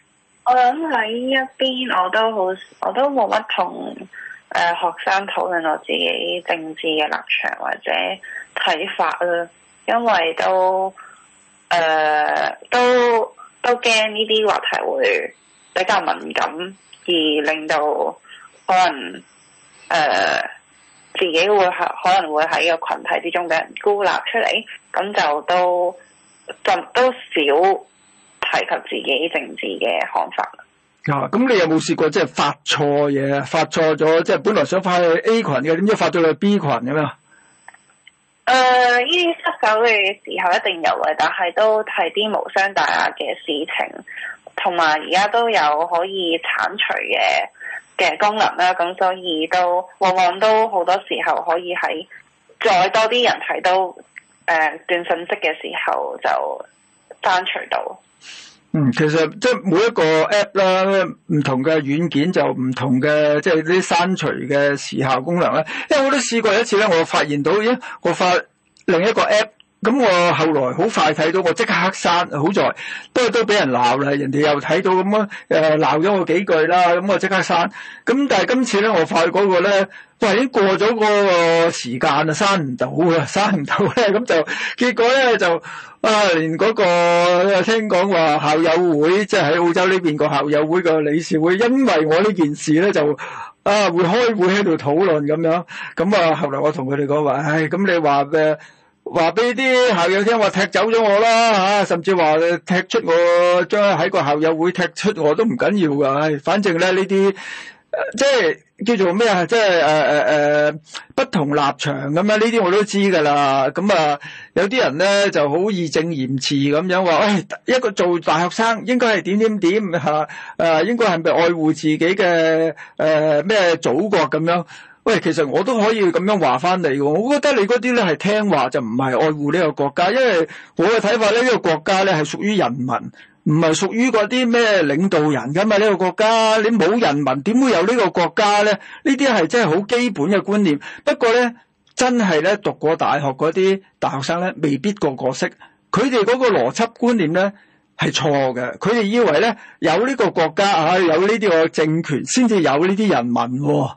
我諗喺一邊我都好，我都冇乜同誒學生討論我自己政治嘅立場或者睇法啦，因為都誒、呃、都都驚呢啲話題會比較敏感，而令到可能誒、呃、自己會係可能會喺個群體之中俾人孤立出嚟，咁就都就都少提及自己政治嘅看法。 啊，咁你有冇試過即係發錯嘢，發錯咗，即係本來想發去 A 群嘅，點知發咗去 B 群咁啊？ 誒，呢啲失手嘅時候一定有嘅，但係都係啲無傷大雅嘅事情，同埋而家都有可以剷除嘅嘅功能啦，咁所以都往往都好多時候可以喺再多啲人睇到誒、呃、段信息嘅時候就刪除到。 嗯，其實即係每一個 app 啦，唔同嘅軟件就唔同嘅，即係啲刪除嘅時效功能啦。因為我都試過一次咧，我發現到，咦，我發另一個 app， 咁我後來好快睇到，我即刻黑刪，好在都係都俾人鬧啦，人哋又睇到咁樣誒鬧咗我幾句啦，咁我即刻刪。咁但係今次咧，我發覺嗰個咧，哇，已經過咗個時間啊，刪唔到啊，刪唔到咧，咁就結果咧就啊，連嗰個聽講話校友會，即係喺澳洲呢邊個校友會個理事會，因為我呢件事咧就啊會開會喺度討論咁樣，咁啊後來我同佢哋講話，唉，咁你話嘅話俾啲校友聽話踢走咗我啦嚇，甚至話踢出我，將喺個校友會踢出我都唔緊要㗎，唉，反正咧呢啲。即係叫做咩啊？即係誒誒誒不同立場咁啊！呢啲我都知噶啦。咁啊，有啲人咧就好義正言辭咁樣話，誒、哎，一個做大學生應該係點點點吓，誒，應該係咪愛護自己嘅誒咩祖國咁樣？喂，其實我都可以咁樣話翻嚟嘅。我覺得你嗰啲咧係聽話就唔係愛護呢個國家，因為我嘅睇法咧，呢、這個國家咧係屬於人民。唔係屬於嗰啲咩領導人㗎嘛？呢個國家你冇人民點會有呢個國家咧？呢啲係真係好基本嘅觀念。不過咧，真係咧讀過大學嗰啲大學生咧，未必個個識。佢哋嗰個邏輯觀念咧係錯嘅。佢哋以為咧有呢個國家啊，有呢啲個政權先至有呢啲人民喎。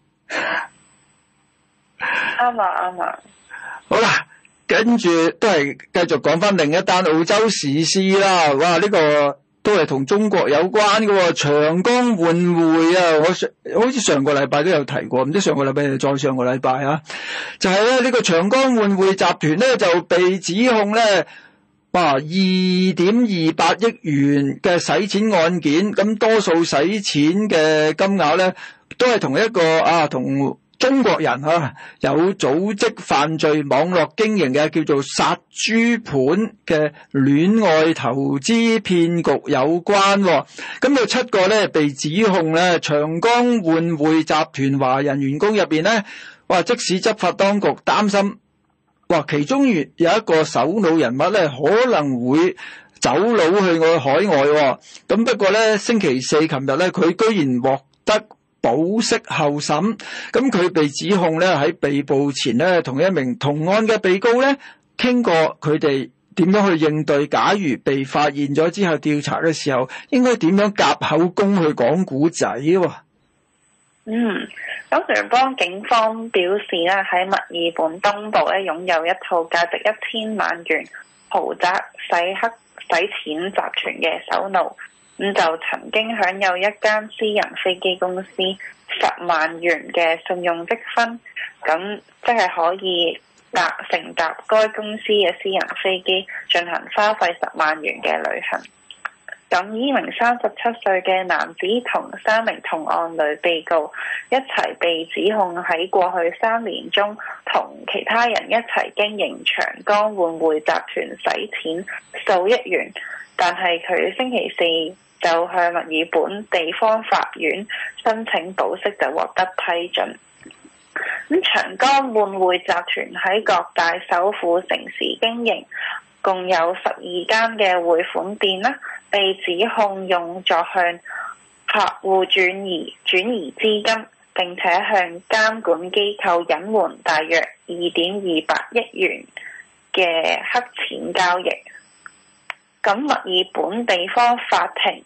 啱啊，啱啊。 好啦。跟住都係繼續講翻另一單澳洲時事啦，哇！呢、這個都係同中國有關嘅喎，長江換匯啊，我上好似上個禮拜都有提過，唔知上個禮拜定再上個禮拜啊，就係咧呢個長江換匯集團咧就被指控咧，哇，二點二八億元嘅洗錢案件，咁多數洗錢嘅金額咧都係同一個啊同。中國人啊，有組織犯罪網絡經營嘅叫做殺豬盤嘅戀愛投資騙局有關，哦，咁有七個咧被指控咧，長江換匯集團華人員工入邊咧，哇！即使執法當局擔心，哇，其中有一個首腦人物咧可能會走佬去我海外，哦，咁不過咧星期四琴日咧，佢居然獲得保釋候審，咁佢被指控咧喺被捕前咧同一名同案嘅被告咧傾過佢哋點樣去應對，假如被發現咗之後調查嘅時候應該點樣夾口供去講古仔喎。 嗯，咁聯邦警方表示咧喺墨爾本東部咧擁有一套價值一千萬元豪宅洗黑洗錢集團嘅首腦。咁就曾經享有一間私人飛機公司十萬元嘅信用積分，咁即係可以搭乘搭該公司嘅私人飛機進行花費十萬元嘅旅行。咁呢名三十七歲嘅男子同三名同案女被告一齊被指控喺過去三年中同其他人一齊經營長江換匯集團洗錢數億元，但係佢星期四就向墨爾本地方法院申請保釋，就獲得批准。咁長江換匯集團喺各大首府城市經營，共有十二間嘅匯款店啦，被指控用作向客戶轉移轉移資金，並且向監管機構隱瞞大約二點二八億元嘅黑錢交易。咁墨爾本地方法庭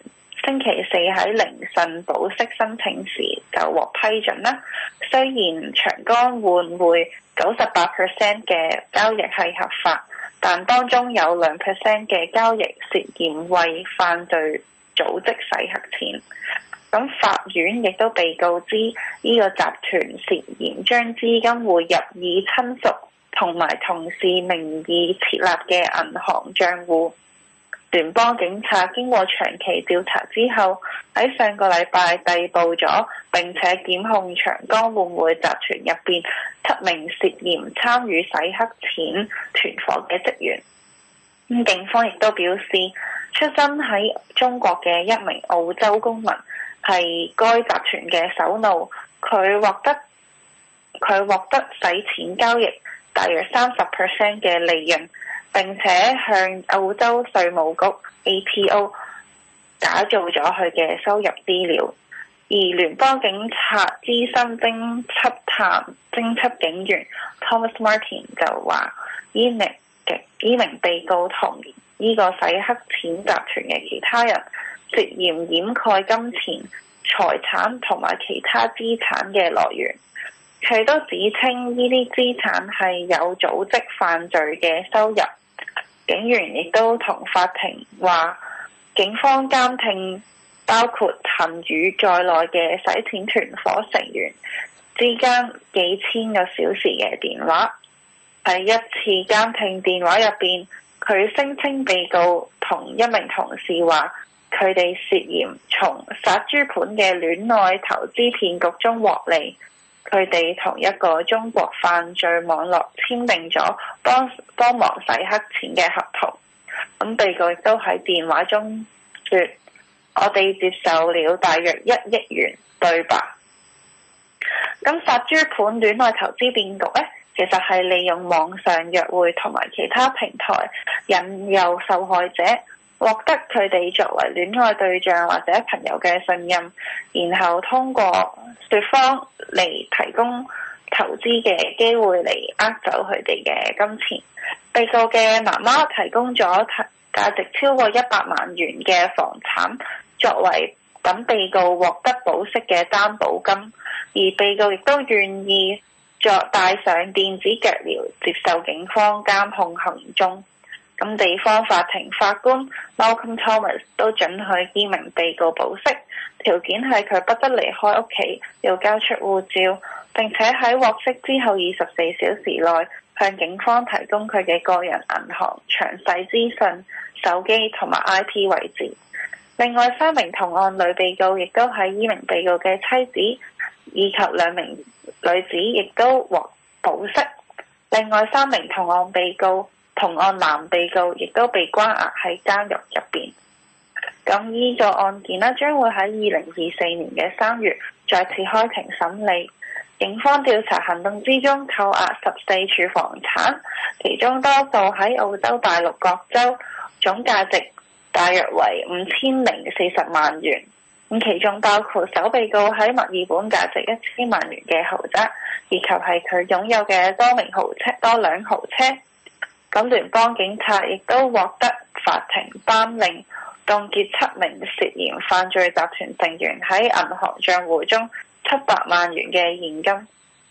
星期四喺凌晨保釋申請時就獲批准啦。雖然長江換匯九十八 percent 嘅交易係合法，但當中有兩 percent 嘅交易涉嫌為犯罪組織洗黑錢。咁法院亦都被告知呢個集團涉嫌將資金匯入以親屬同埋同事名義設立嘅銀行帳戶。聯邦警察經過長期調查之後，喺上個禮拜逮捕咗並且檢控長江換匯集團入邊七名涉嫌參與洗黑錢團夥嘅職員。咁警方亦都表示，出生喺中國嘅一名澳洲公民係該集團嘅首腦，佢獲得佢獲得洗錢交易大約三十 percent 嘅利潤，並且向澳洲稅務局 A T O 打造咗佢嘅收入資料。而聯邦警察資深偵緝探偵緝警員 Thomas Martin 就話，呢名嘅呢名被告同呢個洗黑錢集團嘅其他人涉嫌掩蓋金錢、財產同埋其他資產嘅來源。佢都指稱呢啲資產係有組織犯罪嘅收入。警員亦都同法庭話，警方監聽包括陳宇在內嘅洗錢團夥成員之間幾千個小時嘅電話。喺一次監聽電話入邊，佢聲稱被告同一名同事話，佢哋涉嫌從殺豬盤嘅戀愛投資騙局中獲利。佢哋同一個中國犯罪網絡簽訂咗幫幫忙洗黑錢嘅合同。咁被告亦都喺電話中說，我哋接受了大約一億元，對吧？咁殺豬盤戀愛投資騙局呢，其實係利用網上約會同埋其他平台引誘受害者，獲得佢哋作為戀愛對象或者朋友嘅信任，然後通過說謊嚟提供投資嘅機會嚟呃走佢哋嘅金錢。被告嘅媽媽提供咗價值超過一百萬元嘅房產作為等被告獲得保釋嘅擔保金，而被告亦都願意作戴上電子腳鐐接受警方監控行蹤。咁地方法庭法官 Malcolm Thomas 都准許呢名被告保釋，條件係佢不得離開屋企，要交出護照，並且喺獲釋之後二十四小時內向警方提供佢嘅個人銀行詳細資訊、手機同埋 I P 位置。另外三名同案女被告亦都係呢名被告嘅妻子，以及兩名女子亦都獲保釋。另外三名同案被告同案男被告亦都被關押喺監獄入邊。咁呢個案件呢，將會喺二零二四年嘅三月再次開庭審理。警方調查行動之中扣押十四處房產，其中多數喺澳洲大陸各州，總價值大約為五千零四十萬元。咁其中包括首被告喺墨爾本價值一千萬元嘅豪宅，以及係佢擁有嘅多名豪車、多輛豪車。咁聯邦警察亦都獲得法庭頒令凍結七名涉嫌犯罪集團成員喺銀行帳戶中七百萬元嘅現金。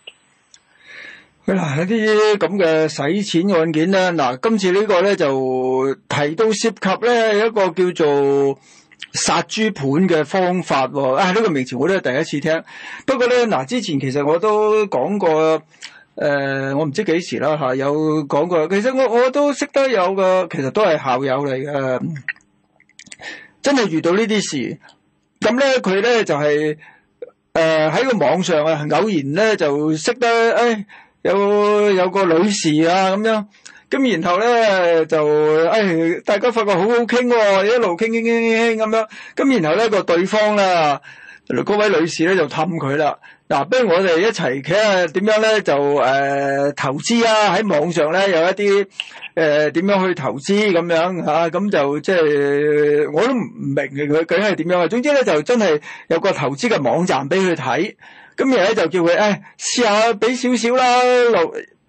嗱，一啲咁嘅洗錢案件咧，嗱，今次呢個咧就提到涉及咧一個叫做殺豬盤嘅方法喎。啊，呢個名詞我都係第一次聽。不過咧，嗱，之前其實我都講過，誒、呃，我唔知幾時啦嚇，有講過。其實我我都識得有個，其實都係校友嚟嘅，真係遇到呢啲事。咁咧，佢咧就係誒喺個網上啊，偶然咧就識得誒。哎有有個女士啊咁樣，咁然後咧就誒、哎、大家發覺好好傾喎，一路傾傾傾傾咁樣，咁然後咧個對方啦，嗰位女士咧就氹佢啦。嗱，不如我哋一齊睇下點樣咧就誒、呃、投資啊，喺網上咧有一啲誒點樣去投資咁樣嚇，咁、啊、就即係我都唔明嘅佢究竟係點樣啊。總之咧就真係有個投資嘅網站俾佢睇。咁然後咧就叫佢誒試下俾少少啦，留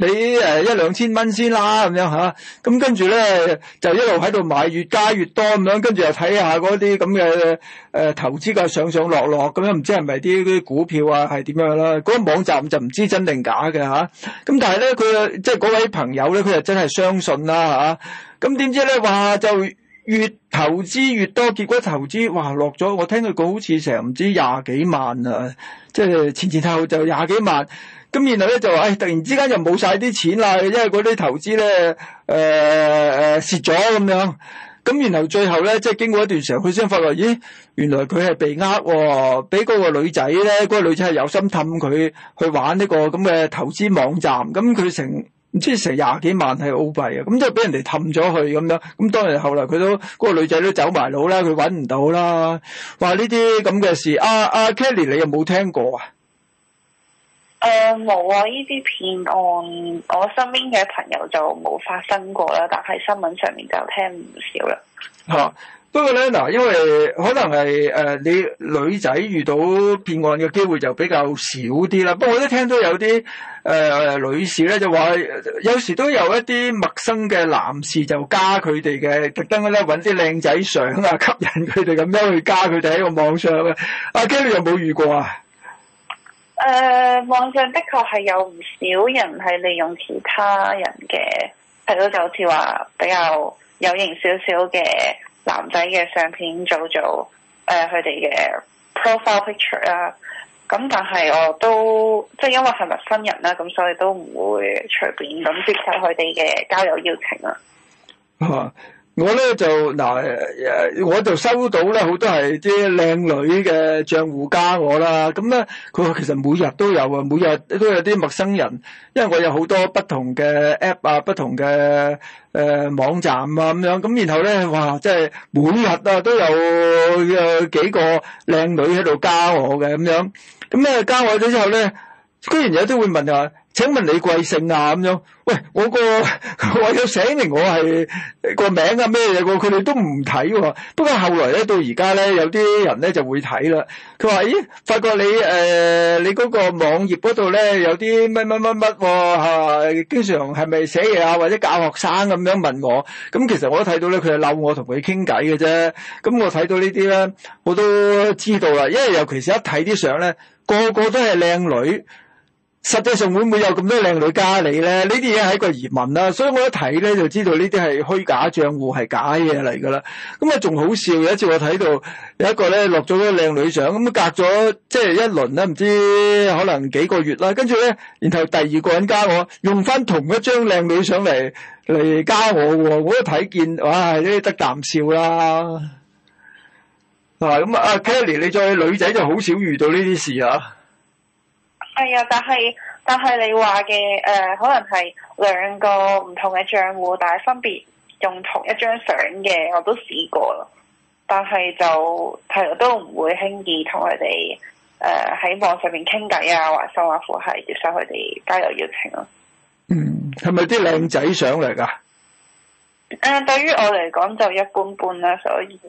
俾誒一兩千蚊先啦，咁樣吓，咁跟住咧就一路喺度買，越加越多咁樣，跟住又睇下嗰啲咁嘅誒投資嘅上上落落咁樣，唔知係咪啲啲股票啊係點樣啦？嗰、那個網站就唔知真定假嘅吓，咁但係咧佢即係嗰位朋友咧，佢就真係相信啦吓，咁點知咧話就越投資越多，結果投資哇落咗，我聽佢講好似成唔知廿幾萬啊，即係前前後後就廿幾萬。咁然後咧就話，誒、哎，突然之間就冇晒啲錢啦，因為嗰啲投資咧，誒、呃、誒蝕咗咁樣。咁然後最後咧，即係經過一段時間，佢先發覺，咦，原來佢係被呃喎，俾嗰個女仔咧，嗰、嗰個女仔係有心氹佢去玩呢個咁嘅投資網站。咁佢成唔知成廿幾萬係澳幣啊，咁就俾人哋氹咗佢咁樣。咁當然後來佢都嗰、嗰個女仔都走埋佬啦，佢搵唔到啦。話呢啲咁嘅事，阿、啊、阿、啊、Kelly 你有冇聽過啊？ 誒冇啊！呢啲騙案，我身邊嘅朋友就冇發生過啦，但係新聞上面就聽唔少啦。 嚇、啊！不過咧嗱，因為可能係誒、呃、你女仔遇到騙案嘅機會就比較少啲啦。不過我都聽到有啲誒、呃、女士咧就話，有時都有一啲陌生嘅男士就加佢哋嘅，特登咧揾啲靚仔相啊，吸引佢哋咁樣去加佢哋喺個網上嘅。阿 Kelly 有冇遇過啊？ 誒、呃，網上的確係有唔少人係利用其他人嘅，係咯，就好似話比較有型少少嘅男仔嘅相片做做誒佢哋嘅 profile picture 啊。咁但係我都即係因為係陌生人啦，咁所以都唔會隨便咁接受佢哋嘅交友邀請啊。 啊我咧就嗱誒，我就收到咧好多係啲靚女嘅賬戶加我啦。咁咧佢話其實每日都有啊，每日都有啲陌生人，因為我有好多不同嘅 app 啊，不同嘅誒、呃、網站啊咁樣。咁然後咧，哇，即係每日啊都有有幾個靚女喺度加我嘅咁樣。咁咧加我咗之後咧，居然有啲會問啊，請問你貴姓啊？咁樣，喂，我個我有寫明我係個名啊咩嘢個，佢哋都唔睇喎。不過後來咧，到而家咧，有啲人咧就會睇啦。佢話：咦，發覺你誒、呃、你嗰個網頁嗰度咧有啲乜乜乜乜喎嚇，經常係咪寫嘢啊或者教學生咁樣問我？咁其實我都睇到咧，佢係嬲我同佢傾偈嘅啫。咁我睇到呢啲咧，我都知道啦。因為尤其是一睇啲相咧，個個都係靚女。實際上會唔會有咁多靚女加你咧？呢啲嘢係一個疑問啦，所以我一睇咧就知道呢啲係虛假賬戶，係假嘢嚟噶啦。咁啊仲好笑，有一次我睇到有一個咧落咗啲靚女相，咁隔咗即係一輪咧，唔知可能幾個月啦，跟住咧，然後第二個人加我，用翻同一張靚女相嚟嚟加我喎，我一睇見，哇！呢啲得啖笑啦。嗱咁啊 Kelly 你作為女仔就好少遇到呢啲事啊。 係啊，但係但係你話嘅誒，可能係兩個唔同嘅賬戶，但係分別用同一張相嘅，我都試過咯。但係就係都唔會輕易同佢哋誒喺網上面傾偈啊，或甚或乎係接受佢哋交友邀請咯。嗯， 係咪啲靚仔相嚟㗎？ 誒、呃，對於我嚟講就一般般啦，所以。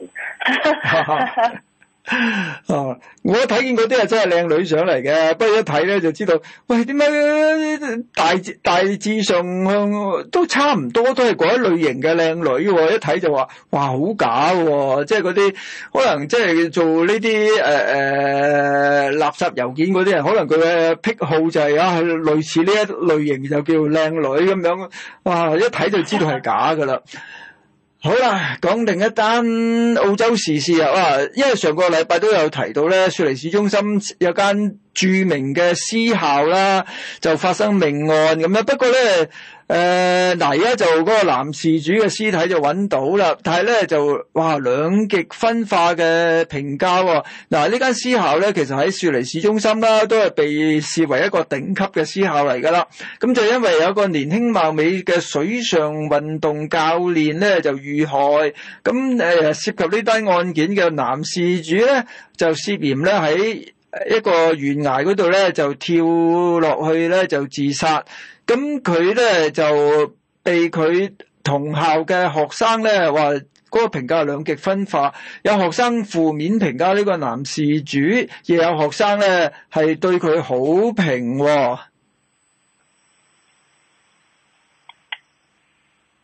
啊！我睇見嗰啲係真係靚女上嚟嘅，不過一睇咧就知道，喂，點解大致大致上都差唔多，都係嗰一類型嘅靚女喎？一睇就話，哇，好假喎！即係嗰啲可能即係做呢啲誒誒垃圾郵件嗰啲人，可能佢嘅癖好就係、是、啊，類似呢一類型就叫靚女咁樣，哇！一睇就知道係假噶啦。好啦，講另一單澳洲時事啊！哇，因為上個禮拜都有提到咧，雪梨市中心有間著名嘅私校啦，就發生命案咁樣。不過咧，誒嗱，而家就嗰個男事主嘅屍體就揾到啦，但係咧就哇兩極分化嘅評價喎。嗱，呢間私校咧其實喺雪梨市中心啦，都係被視為一個頂級嘅私校嚟㗎啦。咁就因為有個年輕貌美嘅水上運動教練咧就遇害，咁誒涉及呢單案件嘅男事主咧就涉嫌咧喺一個懸崖嗰度咧就跳落去咧就自殺。咁佢咧就被佢同校嘅學生咧話嗰個評價兩極分化，有學生負面評價呢個男事主，亦有學生咧係對佢好評喎。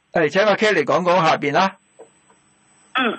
誒，請阿 Kelly 講講下邊啦。 嗯。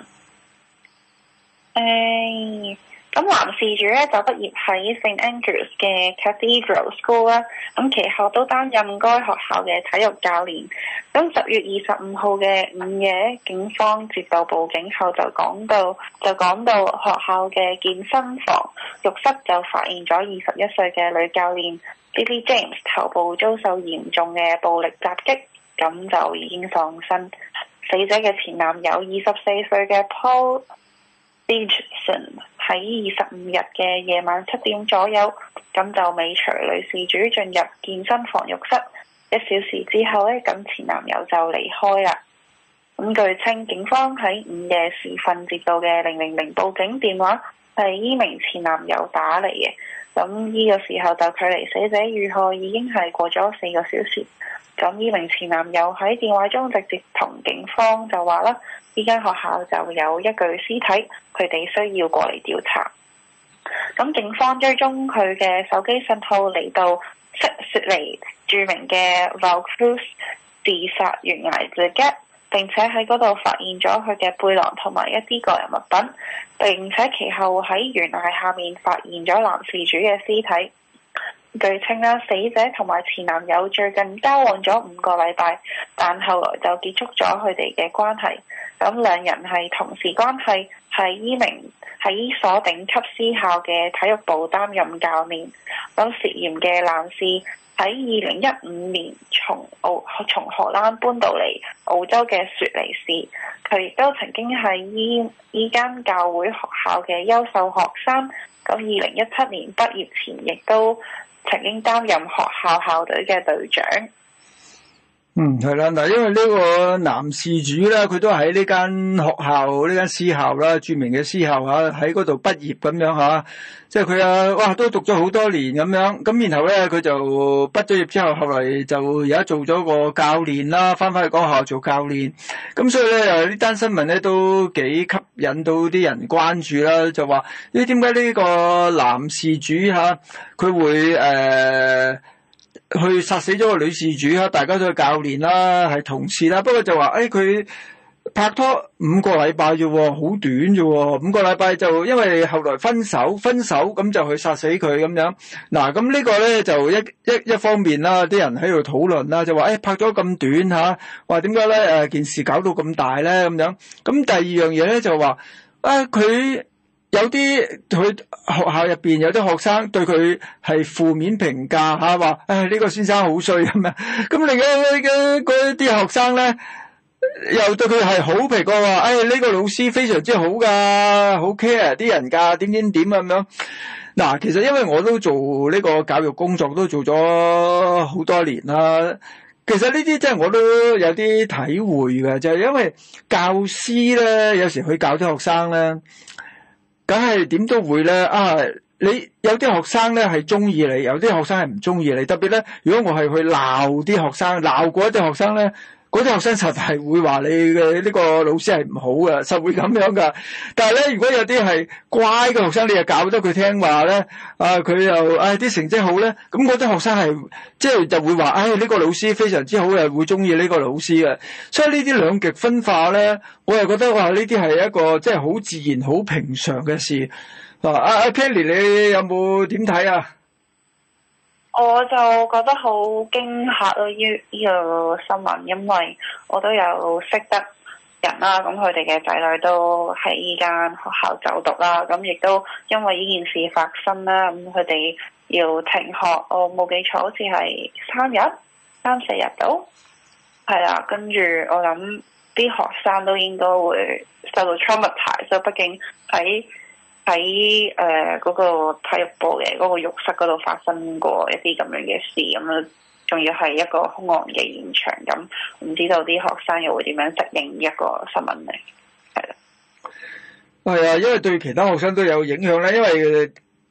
誒。咁男事主咧就畢業喺 Saint Andrews 嘅 Cathedral School 啦，咁其後都擔任該學校嘅體育教練。咁十月二十五號嘅午夜，警方接到報警後就講到，就講到學校嘅健身房浴室就發現咗二十一歲嘅女教練 Lily James 頭部遭受嚴重嘅暴力襲擊，咁就已經喪生。死者嘅前男友二十四歲嘅 Paul Richardson 喺二十五日嘅夜晚七點左右，咁就尾隨女事主進入健身房浴室。一小時之後呢，咁前男友就離開啦。咁據稱，警方喺午夜時分接到嘅零零零報警電話係依名前男友打嚟嘅。咁呢個時候就距離死者遇害已經係過咗四個小時。咁呢名前男友喺電話中直接同警方就話啦，呢間學校就有一具屍體，佢哋需要過嚟調查。咁警方追蹤佢嘅手機信號嚟到悉尼著名嘅 Vaucluse 自殺懸崖之家，並且喺嗰度發現咗佢嘅背囊同埋一啲個人物品，並且其後喺懸崖下面發現咗男事主嘅屍體。據稱啦，死者同埋前男友最近交往咗五個禮拜，但後來就結束咗佢哋嘅關係。咁兩人係同事關係，係依名喺依所頂級私校嘅體育部擔任教練。咁涉嫌嘅男士喺二零一五年從澳從荷蘭搬到嚟澳洲嘅雪梨市，佢亦都曾經係依依間教會學校嘅優秀學生。咁二零一七年畢業前，亦都曾經擔任學校校隊嘅隊長。 嗯，係啦，嗱，因為呢個男事主咧，佢都喺呢間學校，呢間私校啦，著名嘅私校吓，喺嗰度畢業咁樣吓，即係佢啊，哇，都讀咗好多年咁樣，咁然後咧，佢就畢咗業之後，後來就而家做咗個教練啦，翻返去嗰個學校做教練，咁所以咧，誒呢單新聞咧都幾吸引到啲人關注啦，就話咦，點解呢個男事主吓佢會誒？呃去殺死咗個女事主啊！大家都係教練啦，係同事啦。不過就話，誒佢拍拖五個禮拜啫，好短啫。五個禮拜就因為後來分手，分手咁就去殺死佢咁樣。嗱，咁呢個咧就一一一方面啦，啲人喺度討論啦，就話誒拍咗咁短嚇，話點解咧誒件事搞到咁大咧咁樣。咁第二樣嘢咧就話啊佢。有啲佢學校入邊有啲學生對佢係負面評價吓，話誒呢個先生好衰咁樣。咁另外嘅嗰啲學生咧，又對佢係好評過話，誒呢個老師非常之好噶，好 care 啲人噶，點點點咁樣。嗱，其實因為我都做呢個教育工作，都做咗好多年啦。其實呢啲真係我都有啲體會嘅，就係因為教師咧，有時去教啲學生咧。梗係點都會咧啊！你有啲學生咧係中意你，有啲學生係唔中意你。特別咧，如果我係去鬧啲學生，鬧過一啲學生咧，嗰啲學生實係會話你嘅呢個老師係唔好嘅，實會咁樣噶。但係咧，如果有啲係乖嘅學生，你又教得佢聽話咧，啊佢又啊啲成績好咧，咁嗰啲學生係即係就會話，唉呢個老師非常之好，又會中意呢個老師嘅。所以呢啲兩極分化咧，我又覺得哇，呢啲係一個即係好自然、好平常嘅事。啊，阿阿 Kelly，你有冇點睇啊？ 我就覺得好驚嚇咯！呢呢個新聞，因為我都有識得人啦，咁佢哋嘅仔女都喺呢間學校就讀啦，咁亦都因為呢件事發生啦，咁佢哋要停學，我冇記錯好似係三日、三四日到，係啦，跟住我諗啲學生都應該會受到 traumatise，所以畢竟喺喺誒嗰個體育部嘅嗰個浴室嗰度發生過一啲咁樣嘅事，咁樣仲要係一個兇案嘅現場，咁唔知道啲學生又會點樣適應一個新聞嚟？係啦， 係啊，因為對其他學生都有影響咧，因為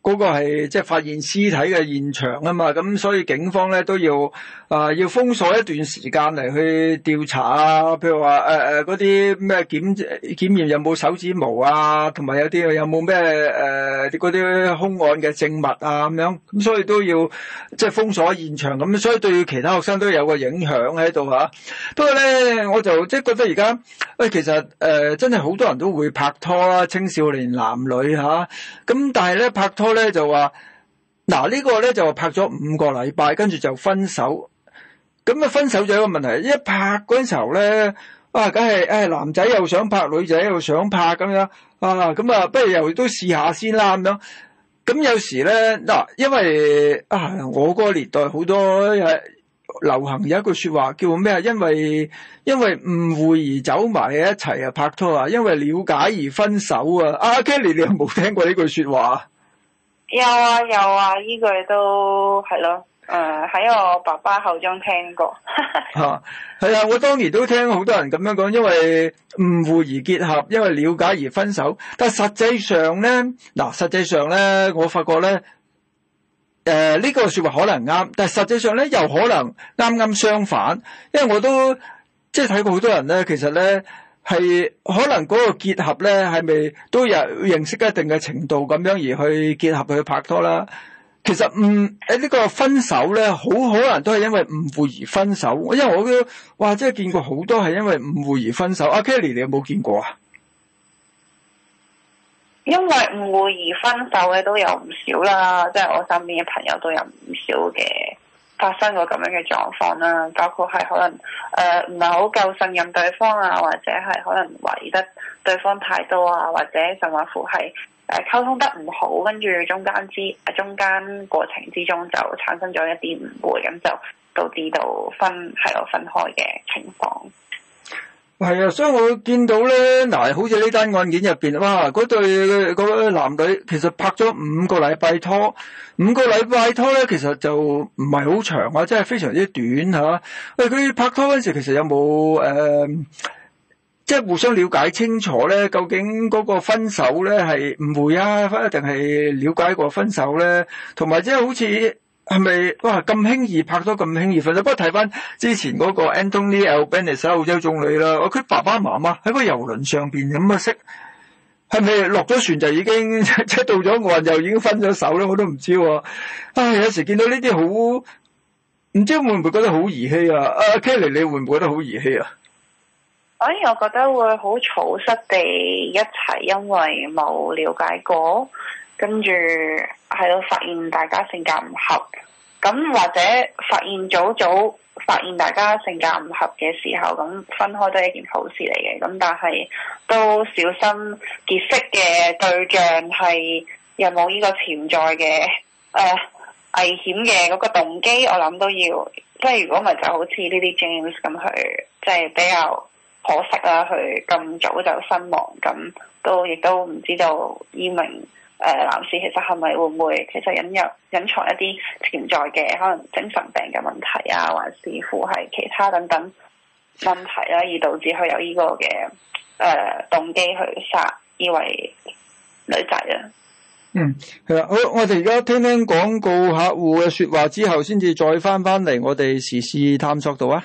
嗰個係即係發現屍體嘅現場啊嘛，咁所以警方咧都要啊、呃、要封鎖一段時間嚟去調查啊，譬如話誒誒嗰啲咩檢檢驗有冇手指毛啊，同埋有啲有冇咩誒嗰啲兇案嘅證物啊咁樣，咁所以都要即係封鎖現場咁，所以對其他學生都有個影響喺度嚇。不過咧，我就即係覺得而家喂其實誒、呃、真係好多人都會拍拖啦，青少年男女嚇，咁、啊、但係咧拍拖咧就話嗱呢個咧就拍咗五個禮拜，跟住就分手。咁啊分手就有一個問題，一拍嗰陣時候咧，啊梗係誒男仔又想拍，女仔又想拍咁樣啊，咁啊不如又都試下先啦咁樣。咁有時咧嗱，因為啊我嗰個年代好多誒流行有一句說話叫咩啊？因為因為誤會而走埋一齊啊拍拖啊，因為了解而分手啊。阿 Kelly 你有冇聽過呢句說話？ 有啊有啊，呢句都係咯，誒喺、呃、我爸爸口中聽過。 吓係啊，我當年都聽好多人咁樣講，因為誤會而結合，因為了解而分手。但係實際上咧，嗱實際上咧，我發覺咧，誒、呃、呢、這個說話可能啱，但係實際上咧又可能啱啱相反，因為我都即係睇過好多人咧，其實咧。係可能嗰個結合咧，係咪都有認識一定嘅程度咁樣而去結合去拍拖啦？其實唔誒呢個分手咧，好可能都係因為誤會而分手。因為我都哇，即係見過好多係因為誤會而分手。阿 Kelly 你有冇見過啊？ 因為誤會而分手嘅都有唔少啦，即係我身邊嘅朋友都有唔少嘅。發生過咁樣嘅狀況啦，包括係可能誒唔係好夠信任對方啊，或者係可能懷疑得對方太多啊，或者甚至乎係誒溝通得唔好，跟住中間之誒中間過程之中就產生咗一啲誤會，咁就導致到分係咯分開嘅情況。 係啊，所以我見到咧，嗱，好似呢單案件入邊，哇，嗰對嗰個男女其實拍咗五個禮拜拖，五個禮拜拖咧，其實就唔係好長啊，即係非常之短吓。喂，佢拍拖嗰陣時，其實有冇誒，即係互相了解清楚咧？究竟嗰個分手咧係誤會啊，定係了解過分手咧？同埋即係好似。係咪哇咁輕易拍拖咁輕易分手？不過睇翻之前嗰個 Anthony Albanese 澳洲總理啦，佢爸爸媽媽喺個遊輪上邊咁啊識，係咪落咗船就已經即係到咗岸就已經分咗手咧？我都唔知喎。唉，有時見到呢啲好唔知會唔會覺得好兒戲啊？阿 Kelly 你會唔會覺得好兒戲啊？ 反而我覺得會好草率地一齊，因為冇了解過。跟住係咯，發現大家性格唔合，咁或者發現早早發現大家性格唔合嘅時候，咁分開都係一件好事嚟嘅。咁但係都小心結識嘅對象係有冇呢個潛在嘅誒、呃、危險嘅嗰個動機，我諗都要，即係如果唔係就好似呢啲 James 咁去，即係比較可惜啦，佢咁早就身亡，咁都亦都唔知道依名。誒、呃、男士其實係咪會唔會其實隱入隱藏一啲潛在嘅可能精神病嘅問題啊，還是乎係其他等等問題啦、啊，而導致佢有呢個嘅誒、呃、動機去殺呢位女仔啊？ 嗯，係啦，好，我哋而家聽聽廣告客戶嘅説話之後，先至再翻翻嚟我哋時事探索度啊。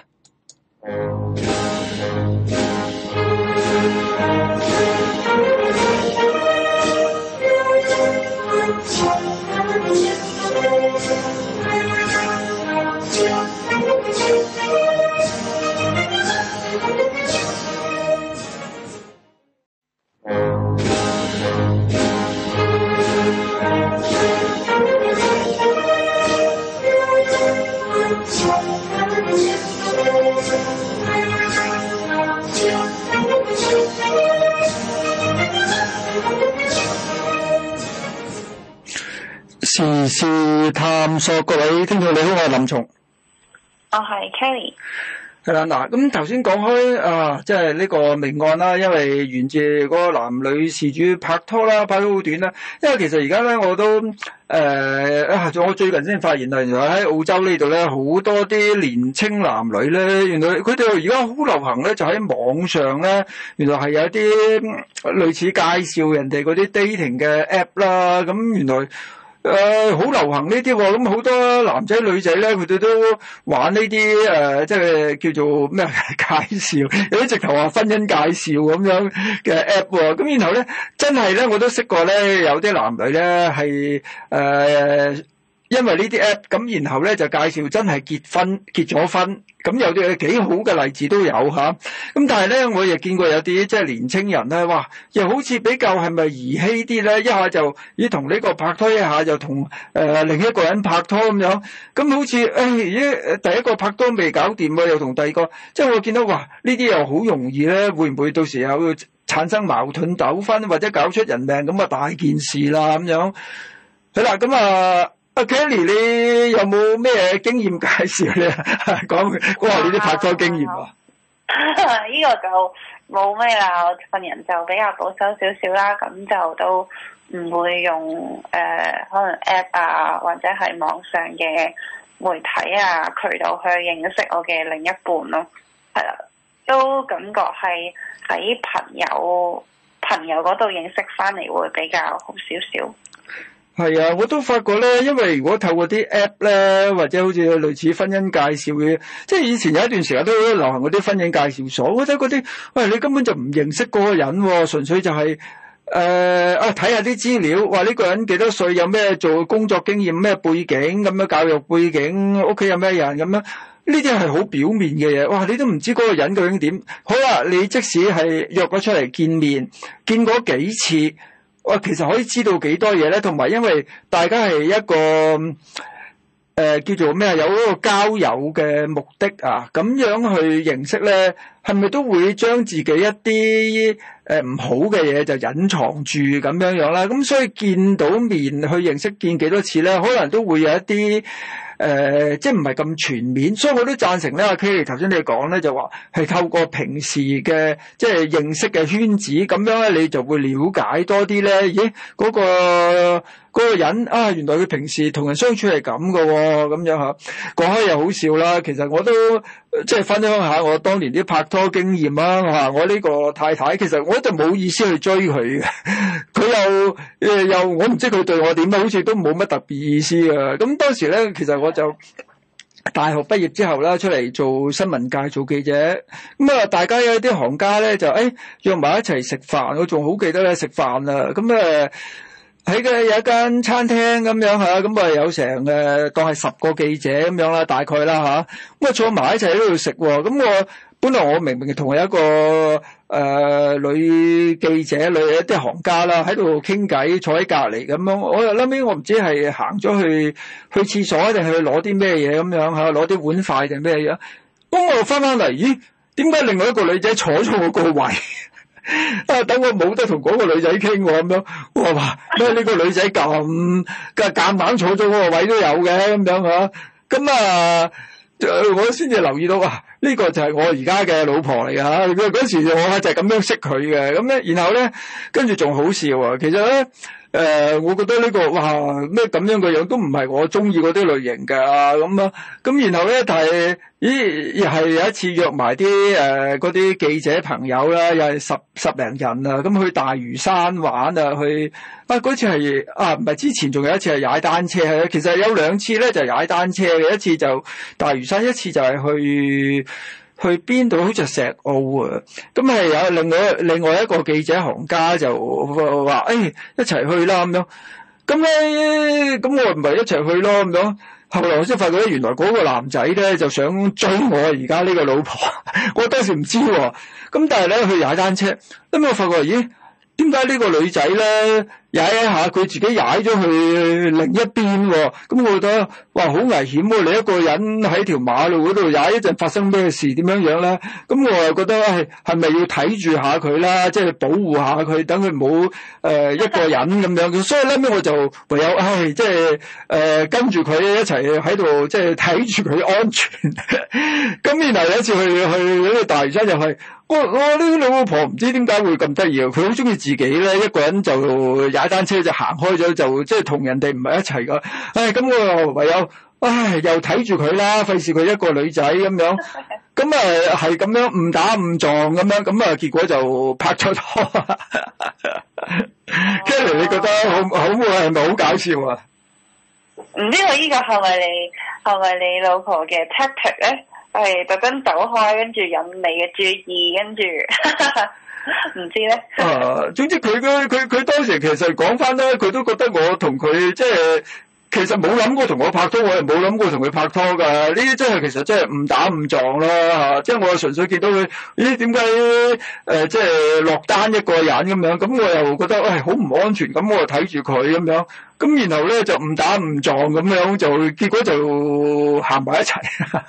時事探索，各位聽眾你好，我係林松， 我係 Kelly。 係啦，嗱，咁頭先講開啊，即係呢個命案啦，因為源自嗰個男女事主拍拖啦，拍咗好短啦。因為其實而家咧，我都誒啊，我最近先發現啊，原來喺澳洲呢度咧，好多啲年青男女咧，原來佢哋而家好流行咧，就喺網上咧，原來係有啲類似介紹人哋嗰啲 dating 嘅 app 啦，咁原來。 誒好流行呢啲喎，咁好多男仔女仔咧，佢哋都玩呢啲誒，即係叫做咩介紹，有啲直頭話婚姻介紹咁樣嘅 app 喎。咁然後咧，真係咧，我都識過咧，有啲男女咧係誒。因為呢啲 app 咁，然後咧就介紹真係結婚結咗婚，咁有啲幾好嘅例子都有吓。咁但係咧，我亦見過有啲即係年青人咧，哇，又好似比較係咪兒戲啲咧？一下就咦同呢個拍拖，一下就同誒、呃、另一個人拍拖咁樣。咁好似誒咦第一個拍拖未搞掂喎，又同第二個，即係我見到哇呢啲又好容易咧，會唔會到時有產生矛盾糾紛，或者搞出人命咁啊大件事啦咁樣。係啦，咁啊。阿 Kelly，你有冇咩經驗介紹咧？講講下你啲拍拖經驗啊？ 呢個就冇咩啦，我份人就比較保守少少啦，咁就都唔會用誒、呃、可能 app 啊，或者係網上嘅媒體啊渠道去認識我嘅另一半咯。係啦，都感覺係喺朋友朋友嗰度認識翻嚟會比較好少少。 係啊，我都發覺咧，因為如果透過啲 app 咧，或者好似類似婚姻介紹嘅，即係以前有一段時間都流行嗰啲婚姻介紹所，我覺得嗰啲，喂，你根本就唔認識嗰個人喎，純粹就係、是、誒、呃、啊睇下啲資料，話呢個人幾多歲，有咩做工作經驗，咩背景咁樣，教育背景，屋企有咩人咁樣，呢啲係好表面嘅嘢，哇！你都唔知嗰個人究竟點。好啦，你即使係約咗出嚟見面，見過幾次。我其實可以知道幾多嘢咧，同埋因為大家係一個誒、呃、叫做咩啊，有嗰個交友嘅目的啊，咁樣去認識咧，係咪都會將自己一啲誒唔好嘅嘢就隱藏住咁樣樣啦？咁所以見到面去認識見幾多次咧，可能都會有一啲。誒、呃，即係唔係咁全面，所以我都贊成咧。阿 Kelly 頭先你講咧，就話係透過平時嘅即係認識嘅圈子，咁樣咧你就會了解多啲咧。咦，嗰、嗰個嗰、嗰個人啊，原來佢平時同人相處係咁㗎喎，咁樣嚇。講開又好笑啦，其實我都即係分享下我當年啲拍拖經驗啦嚇。我呢個太太其實我就冇意思去追佢嘅，佢又誒又我唔知佢對我點啊，好似都冇乜特別意思啊。咁當時咧，其實我我就大學畢業之後啦，出嚟做新聞界做記者，咁啊，大家有啲行家咧就誒、哎、約埋一齊食飯，我仲好記得咧食飯啊，咁誒喺嘅有一間餐廳咁樣吓，咁啊有成誒當係十個記者咁樣啦，大概啦吓，咁啊坐埋一齊喺度食，咁我本來我明明同有一個誒、呃、女記者女一啲行家啦喺度傾偈，坐喺隔籬咁樣，我又諗起我唔知係行咗去去廁所定係去攞啲咩嘢咁樣吓，攞啲碗筷定咩嘢，咁我翻翻嚟，咦？點解另外一個女仔坐咗我個位？啊！等我冇得同嗰個女仔傾喎，咁樣我話咩？呢個女仔咁嘅夾硬坐咗嗰個位都有嘅咁樣吓，咁啊，我先至留意到啊！呢個就係我而家嘅老婆嚟㗎吓，嗰時我就係咁樣識佢嘅，咁咧，然後咧，跟住仲好笑啊！其實咧，誒、呃，我覺得呢、這個哇咩咁樣嘅樣都唔係我中意嗰啲類型㗎，咁啊，咁然後咧，但係咦，又係有一次約埋啲誒嗰啲記者朋友啦，又係十十零人啊，咁去大嶼山玩啊，去啊嗰次係啊唔係之前仲有一次係踩單車嘅，其實有兩次咧就係踩單車嘅，一次就大嶼山，一次就係去。去邊度？好似石澳啊！咁係有另外另外一個記者行家就話：誒、哎，一齊去啦咁樣。咁咧，咁我唔係一齊去咯咁樣。後來我先發覺咧，原來嗰個男仔咧就想追我而家呢個老婆。我當時唔知喎。咁但係咧，去踩單車，咁我發覺咦？點解呢個女仔咧踩一下佢自己踩咗去另一邊喎？咁我覺得哇好危險喎！你一個人喺條馬路嗰度踩一陣發生咩事點樣樣咧？咁我又覺得係係咪要睇住下佢啦？即係保護下佢，等佢唔好誒一個人咁樣。所以咧，尾我就唯有唉，即係誒跟住佢一齊喺度，即係睇住佢安全。咁然後有一次去去嗰個大嶼山又係。我我呢個老婆唔知點解會咁得意啊！佢好中意自己咧，一個人就踩單車就行開咗，就即係同人哋唔係一齊噶。唉，咁我又唯有唉，又睇住佢啦，費事佢一個女仔咁樣。咁啊係咁樣誤打誤撞咁樣，咁啊結果就拍咗拖。Kelly，你覺得好好係咪好搞笑啊？ 唔知道呢個係咪你係咪你老婆嘅 tactic 咧？係特登走開，跟住引你嘅注意，跟住唔知咧。 啊，總之佢佢佢佢當時其實講翻咧，佢都覺得我同佢即係。其實冇諗過同我拍拖，我又冇諗過同佢拍拖㗎。呢啲真係其實真係誤打誤撞啦嚇。即係我純粹見到佢，咦點解誒即係落單一個人咁樣？咁我又覺得喂好唔安全，咁我又睇住佢咁樣。咁然後咧就誤打誤撞咁樣，就結果就行埋一齊。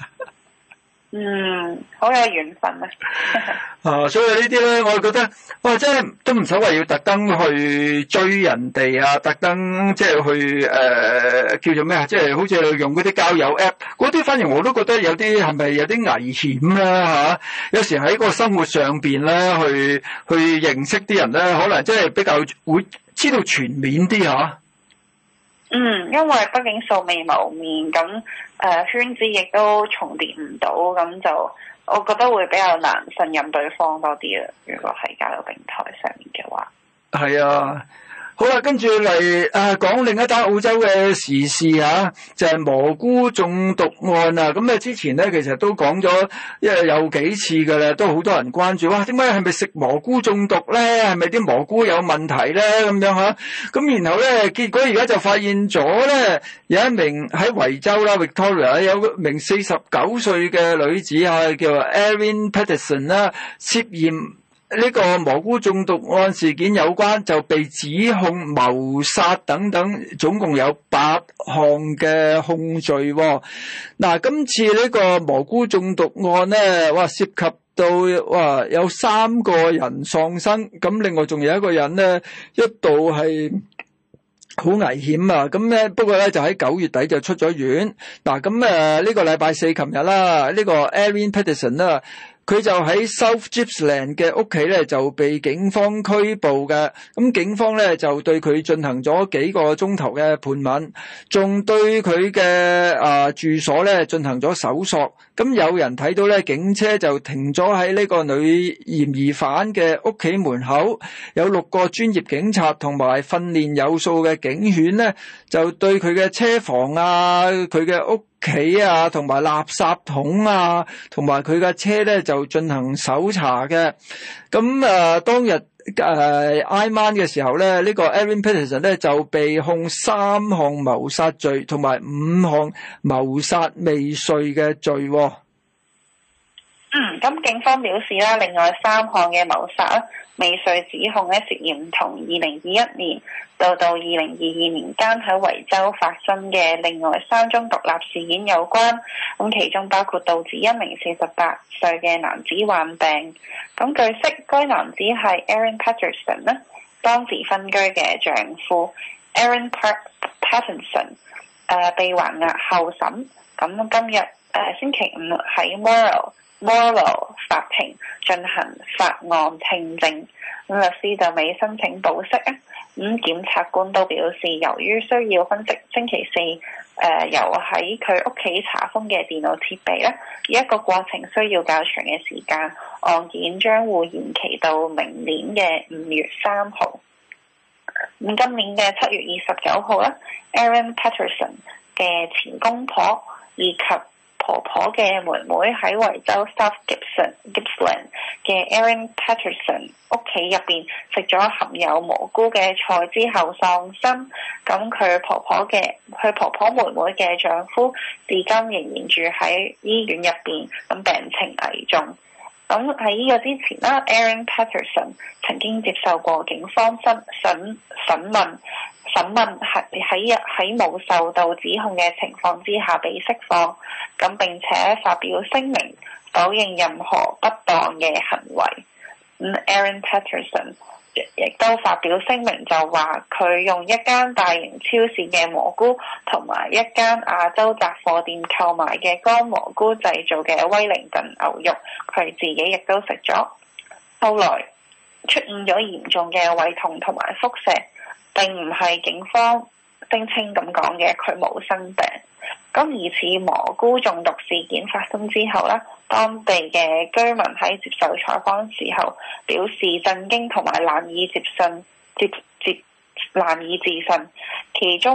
嗯，好有緣分啊！ 啊，所以呢啲咧，我覺得哇，真係都唔使話要特登去追人哋啊，特登即係去誒、呃、叫做咩啊？即係好似用嗰啲交友 app 嗰啲，反而我都覺得有啲係咪有啲危險啦嚇？有時喺個生活上邊咧，去去認識啲人咧，可能真係比較會知道全面啲嚇。 嗯，因為畢竟素未謀面，咁誒、呃、圈子亦都重疊唔到，咁就我覺得會比較難信任對方多啲啦。如果喺交友平台上面嘅話， 係啊。好啦，跟住嚟啊，講另一單澳洲嘅時事啊，就係、是、蘑菇中毒案啊。咁啊，之前咧其實都講咗，因為有幾次㗎啦，都好多人關注。哇，點解係咪食蘑菇中毒咧？係咪啲蘑菇有問題咧？咁樣吓。咁然後咧，結果而家就發現咗咧，有一名喺維州啦 ，Victoria 有一名四十九歲嘅女子啊，叫 Erin Patterson 啦，涉嫌呢個蘑菇中毒案事件有關，就被指控謀殺等等，總共有八項嘅控罪。嗱，今次呢個蘑菇中毒案咧，哇，涉及到哇有三個人喪生，咁另外仲有一個人咧，一度係好危險啊！咁咧，不過咧就喺九月底就出咗院。嗱，咁誒呢個禮拜四琴日啦，呢個 Erin Patterson 啦。佢就喺 South Gippsland 嘅屋企咧，就被警方拘捕嘅。咁警方咧就對佢進行咗幾個鐘頭嘅盤問，仲對佢嘅啊住所咧進行咗搜索。咁有人睇到咧，警車就停咗喺呢個女嫌疑犯嘅屋企門口，有六個專業警察同埋訓練有素嘅警犬咧，就對佢嘅車房啊、佢嘅屋企啊，同埋垃圾桶啊，同埋佢嘅車咧就進行搜查嘅。咁誒、呃、當日誒挨晚嘅時候咧，呢、這個 Erin Patterson 咧就被控三項謀殺罪同埋五項謀殺未遂嘅罪、哦。 嗯，咁警方表示啦，另外三項嘅謀殺未遂指控咧，涉嫌同二零二一年到到二零二二年間喺維州發生嘅另外三宗獨立事件有關。咁其中包括導致一名四十八歲嘅男子患病。咁據悉，該男子係 Erin Patterson 咧當時分居嘅丈夫 Aaron Patterson， 誒、呃、被還押候審。咁今日誒、呃、星期五喺 Moral Moral 法庭進行法案聽證，咁律師就未申請保釋啊。咁檢察官都表示，由於需要分析星期四誒、呃、由喺佢屋企查封嘅電腦設備咧，呢一個過程需要較長嘅時間，案件將會延期到明年嘅五月三號。咁今年嘅七月二十九號咧 ，Erin Patterson 嘅前公婆以及婆婆嘅妹妹喺維州 South Gippsland 嘅 Erin Patterson 屋企入邊食咗含有蘑菇嘅菜之後喪生。咁佢婆婆嘅佢婆婆妹妹嘅丈夫至今仍然住喺醫院入邊，咁病情危重。咁喺呢個之前啦 ，Erin Patterson 曾經接受過警方審審審問。審問係喺喺冇受到指控嘅情況之下被釋放，咁並且發表聲明否認任何不當嘅行為。咁 Erin Patterson 亦都發表聲明就話佢用一間大型超市嘅蘑菇同埋一間亞洲雜貨店購買嘅乾蘑菇製造嘅威靈頓牛肉，佢自己亦都食咗。後來出現咗嚴重嘅胃痛同埋腹瀉。並唔係警方聲稱咁講嘅，佢冇生病。咁疑似蘑菇中毒事件發生之後咧，當地嘅居民喺接受採訪時候表示震驚同埋難以接信接接難以置信。其中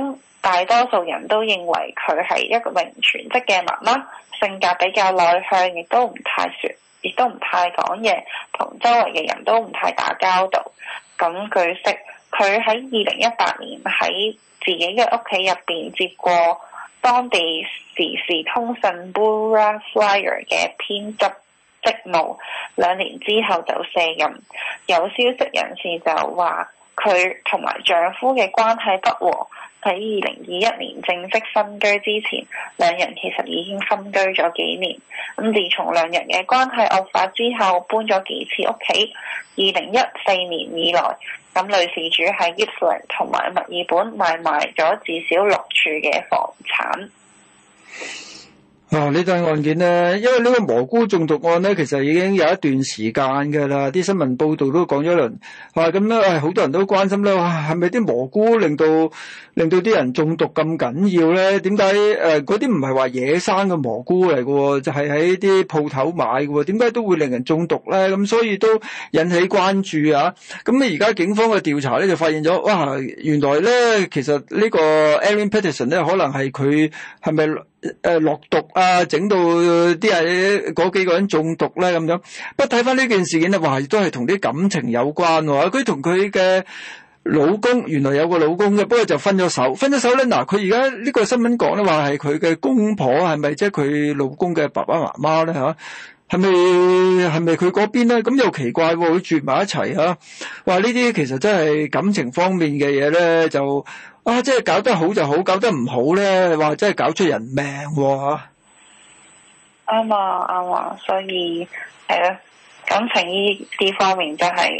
大多數人都認為佢係一個名全職嘅媽媽，性格比較內向，亦都唔太説，亦都唔太講嘢，同周圍嘅人都唔太打交道。咁據悉，佢喺二零一八年喺自己嘅屋企入邊接過當地時事通訊 Bura Flyer 嘅編輯職務，兩年之後就卸任。有消息人士就話佢同埋丈夫嘅關係不和，喺二零二一年正式分居之前，兩人其實已經分居咗幾年。咁自從兩人嘅關係惡化之後，搬咗幾次屋企。二零一四年以來，咁女事主喺 Gippsland 同埋墨爾本買賣咗至少六處嘅房產。 啊！呢單案件咧，因為呢個蘑菇中毒案咧，其實已經有一段時間㗎啦。啲新聞報道都講咗一輪，話咁咧，誒好多人都關心咧，哇係咪啲蘑菇令到令到啲人中毒咁緊要咧？點解誒嗰啲唔係話野生嘅蘑菇嚟嘅喎，就係喺啲鋪頭買嘅喎？點解都會令人中毒咧？咁所以都引起關注啊！咁咧而家警方嘅調查咧就發現咗，哇原來咧其實呢個 Erin Peterson 咧可能係佢係咪誒落毒啊，整到啲人嗰幾個人中毒咧咁樣。不過睇翻呢件事件咧，話都係同啲感情有關喎。佢同佢嘅老公原來有個老公嘅，不過就分咗手。分咗手咧，嗱佢而家呢個新聞講咧話係佢嘅公婆，係咪即係佢老公嘅爸爸媽媽咧嚇？係咪係咪佢嗰邊咧？咁又奇怪喎，佢住埋一齊嚇。話呢啲其實真係感情方面嘅嘢咧，就啊即係搞得好就好，搞得唔好咧，話真係搞出人命喎嚇。 啱啊啱啊，所以係咯，感情呢啲方面真係。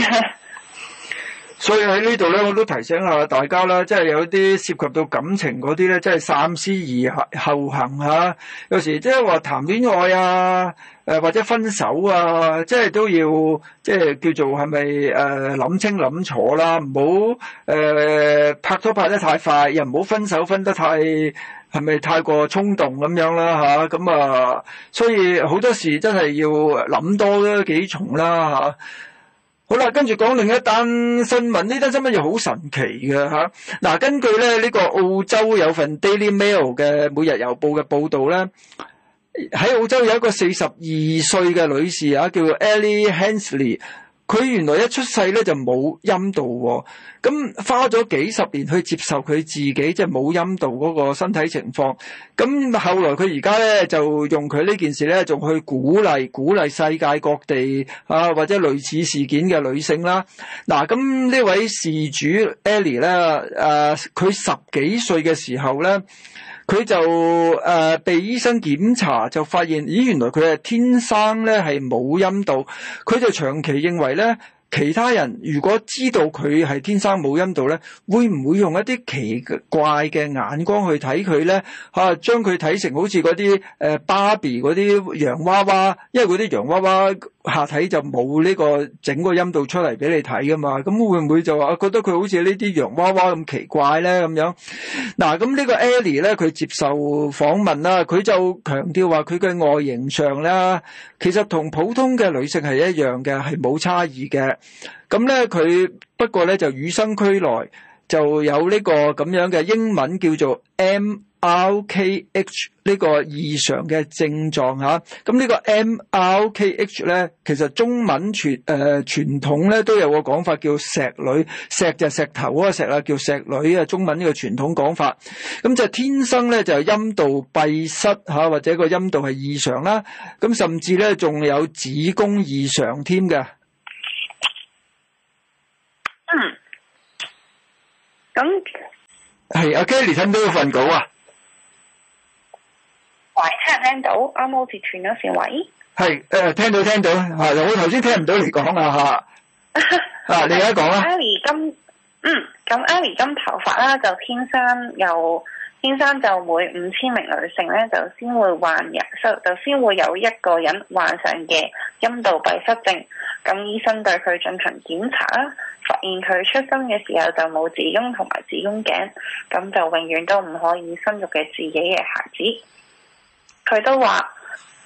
所以喺呢度咧，我都提醒下大家啦，即係有啲涉及到感情嗰啲咧，即係三思而後行嚇。有時即係話談戀愛啊，誒或者分手啊，即係都要即係叫做係咪誒諗清諗楚啦，唔好誒拍拖拍得太快，又唔好分手分得太係咪太過衝動咁樣啦嚇。咁啊，所以好多時真係要諗多幾重啦嚇。好啦，跟住講另一單新聞，呢單新聞又好神奇嘅嚇。嗱、啊，根據咧呢、這個澳洲有份 Daily Mail 嘅每日郵報嘅報導咧，喺澳洲有一個四十二歲嘅女士啊，叫做 Ellie Hensley。佢原來一出世咧就冇陰道喎，咁花咗幾十年去接受佢自己即係冇陰道嗰個身體情況。咁後來佢而家咧就用佢呢件事咧，仲去鼓勵鼓勵世界各地啊或者類似事件嘅女性啦。嗱，咁呢位事主 Ellie 咧，誒佢十幾歲嘅時候咧，佢就誒、呃、被醫生檢查，就發現咦原來佢係天生咧係冇陰道。佢就長期認為咧，其他人如果知道佢係天生冇陰道咧，會唔會用一啲奇怪嘅眼光去睇佢咧？嚇，將佢睇成好似嗰啲誒芭比嗰啲洋娃娃，因為嗰啲洋娃娃下體就冇呢個整個陰道出嚟俾你睇噶嘛，咁會唔會就話覺得佢好似呢啲洋娃娃咁奇怪咧咁樣？嗱，咁呢個 Ellie 咧，佢接受訪問啦，佢就強調話佢嘅外形上咧，其實同普通嘅女性係一樣嘅，係冇差異嘅。咁咧佢不過咧就與生俱來就有呢個咁樣嘅英文叫做 M R K H 呢個異常嘅症狀吓。咁呢個 M R K H 咧，其實中文傳誒傳統咧都有個講法叫石女，石就石頭嗰個石啊，叫石女啊，中文呢個傳統講法。咁就天生咧就陰道閉塞吓，或者個陰道係異常啦。咁甚至咧仲有子宮異常添嘅。 嗯，咁係阿 Kelly 聽到嗰份稿啊？ 喂，聽唔聽到？啱啱好似斷咗線，喂。係誒，聽到聽到，係我頭先聽唔到你講啊吓。啊，你而家講啦。 Ellie 金，嗯，咁 Ellie 金頭髮啦，就天生有，天生就每五千名女性咧，就先會患有，就先會有一個人患上嘅陰道閉塞症。咁醫生對佢進行檢查啦，發現佢出生嘅時候就冇子宮同埋子宮頸，咁就永遠都唔可以生育嘅自己嘅孩子。佢都話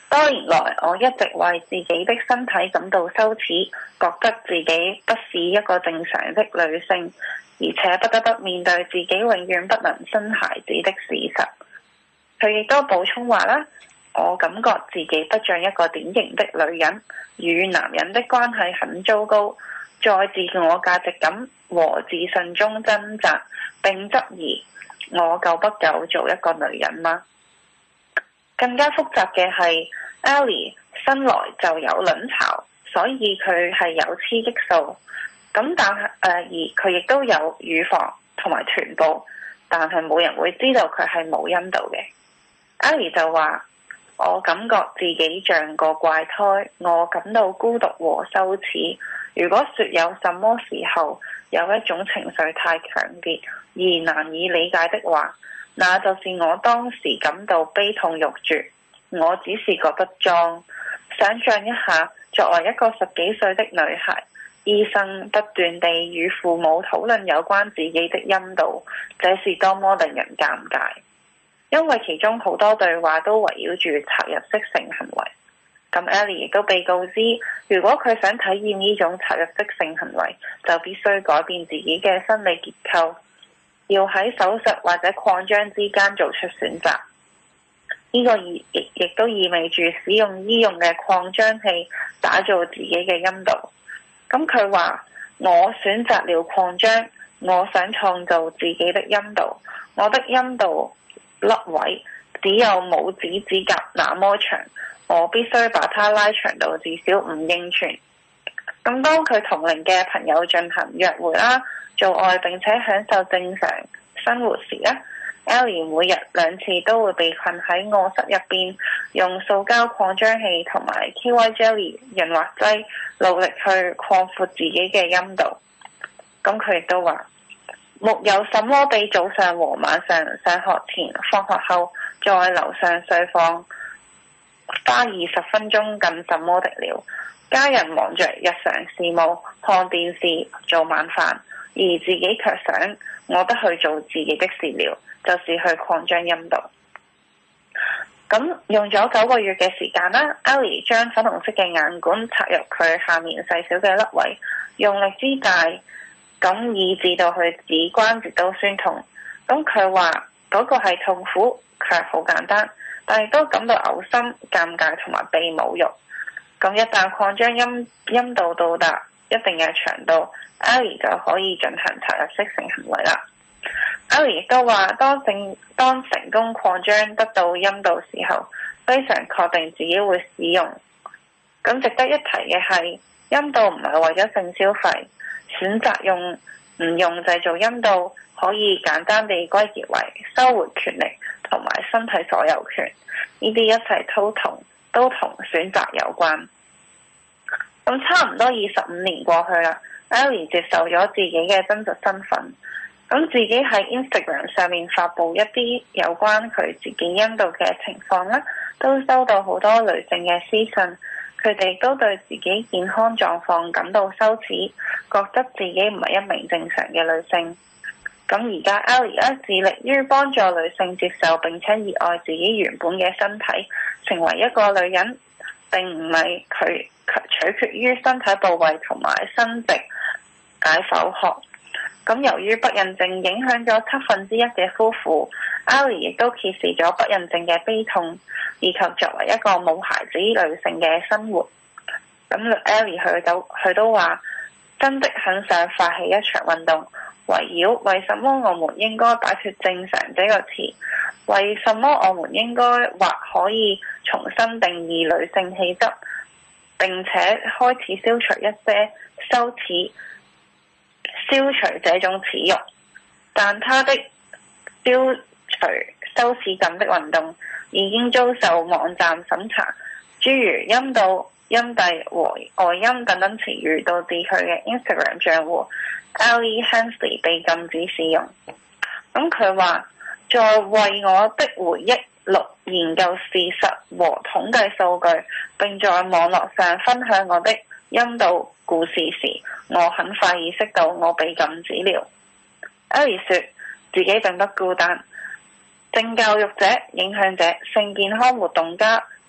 多年來，我一直為自己的身體感到羞恥，覺得自己不是一個正常的女性，而且不得不面對自己永遠不能生孩子的事實。佢亦都補充話啦，我感覺自己不像一個典型的女人，與男人的關係很糟糕，在自我價值感和自信中掙扎，並質疑我夠不夠做一個女人嗎？更加複雜嘅係 Ellie 生來就有卵巢，所以佢係有雌激素。咁但係誒、呃，而佢亦都有乳房同埋臀部，但係冇人會知道佢係冇陰道嘅。Ellie 就話：我感覺自己像個怪胎，我感到孤獨和羞恥。如果說有什麼時候有一種情緒太強烈而難以理解的話，那就是我當時感到悲痛欲絕。我只是覺得髒。想象一下，作為一個十幾歲的女孩，醫生不斷地與父母討論有關自己的陰道，這是多麼令人尷尬。因為其中好多對話都圍繞住插入式性行為。咁 Ellie 亦都被告知，如果佢想體驗呢種插入式性行為，就必須改變自己嘅生理結構，要喺手術或者擴張之間做出選擇。呢、這個亦亦都意味住使用醫用嘅擴張器打造自己嘅陰道。咁佢話：我選擇了擴張，我想創造自己的陰道。我的陰道凹位只有拇指指甲那麼長，我必須把它拉長到至少五英寸。咁當佢同齡嘅朋友進行約會啦、做愛並且享受正常生活時咧，Ellie 每日兩次都會被困喺臥室入邊，用塑膠擴張器同埋 K Y Jelly 潤滑劑努力去擴闊自己嘅陰道。咁佢亦都話：沒有什麼比早上和晚上上學前、放學後在樓上睡房花二十分鐘更什麼的了。家人忙着日常事務，看電視、做晚飯，而自己卻想我不去做自己的事了，就是去擴張陰道。咁用咗九個月嘅時間啦 Ellie 將粉紅色嘅眼管插入佢下面細小嘅凹位，用力之大，咁以致到佢指關節都酸痛。咁佢話嗰個係痛苦，卻好簡單，但係都感到嘔心、尷尬同埋被侮辱。咁一旦擴張陰陰道到達一定嘅長度 Ellie 就可以進行插入式性行為啦。Ellie 亦都話，當成當成功擴張得到陰道時候，非常確定自己會使用。咁值得一提嘅係，陰道唔係為咗性消費，選擇用唔用製造陰道，可以簡單地歸結為收回權力同埋身體所有權。呢啲一切都同都同選擇有關。咁差唔多二十五年過去啦 Ellie 接受咗自己嘅真實身份。咁自己喺 Instagram 上面發布一啲有關佢自己陰道嘅情況啦，都收到好多女性嘅私信，佢哋都對自己健康狀況感到羞恥，覺得自己唔係一名正常嘅女性。咁而家 Ellie 咧致力於幫助女性接受並且熱愛自己原本嘅身體，成為一個女人，並唔係佢取決於身體部位同埋生殖解剖學。咁由於不孕症影響咗七分之一嘅夫婦 Ellie 亦都揭示咗不孕症嘅悲痛，以及作為一個冇孩子女性嘅生活。咁 Ellie 佢都佢都話，真的很想發起一場運動，圍繞為什麼我們應該擺脫正常這個詞，為什麼我們應該或可以重新定義女性氣質，並且開始消除一些羞恥。消除這種恥辱，但他的消除羞恥感的運動已經遭受網站審查，諸如陰道、陰蒂和外陰等等詞語，導致佢嘅 Instagram 賬戶 Ellie Hensley 被禁止使用。咁佢話，在為我的回憶錄研究事實和統計數據，並在網絡上分享我的陰道故事時，我很快意識到我被禁止了。Ellie 說自己並不孤單，性教育者、影響者、性健康活動家、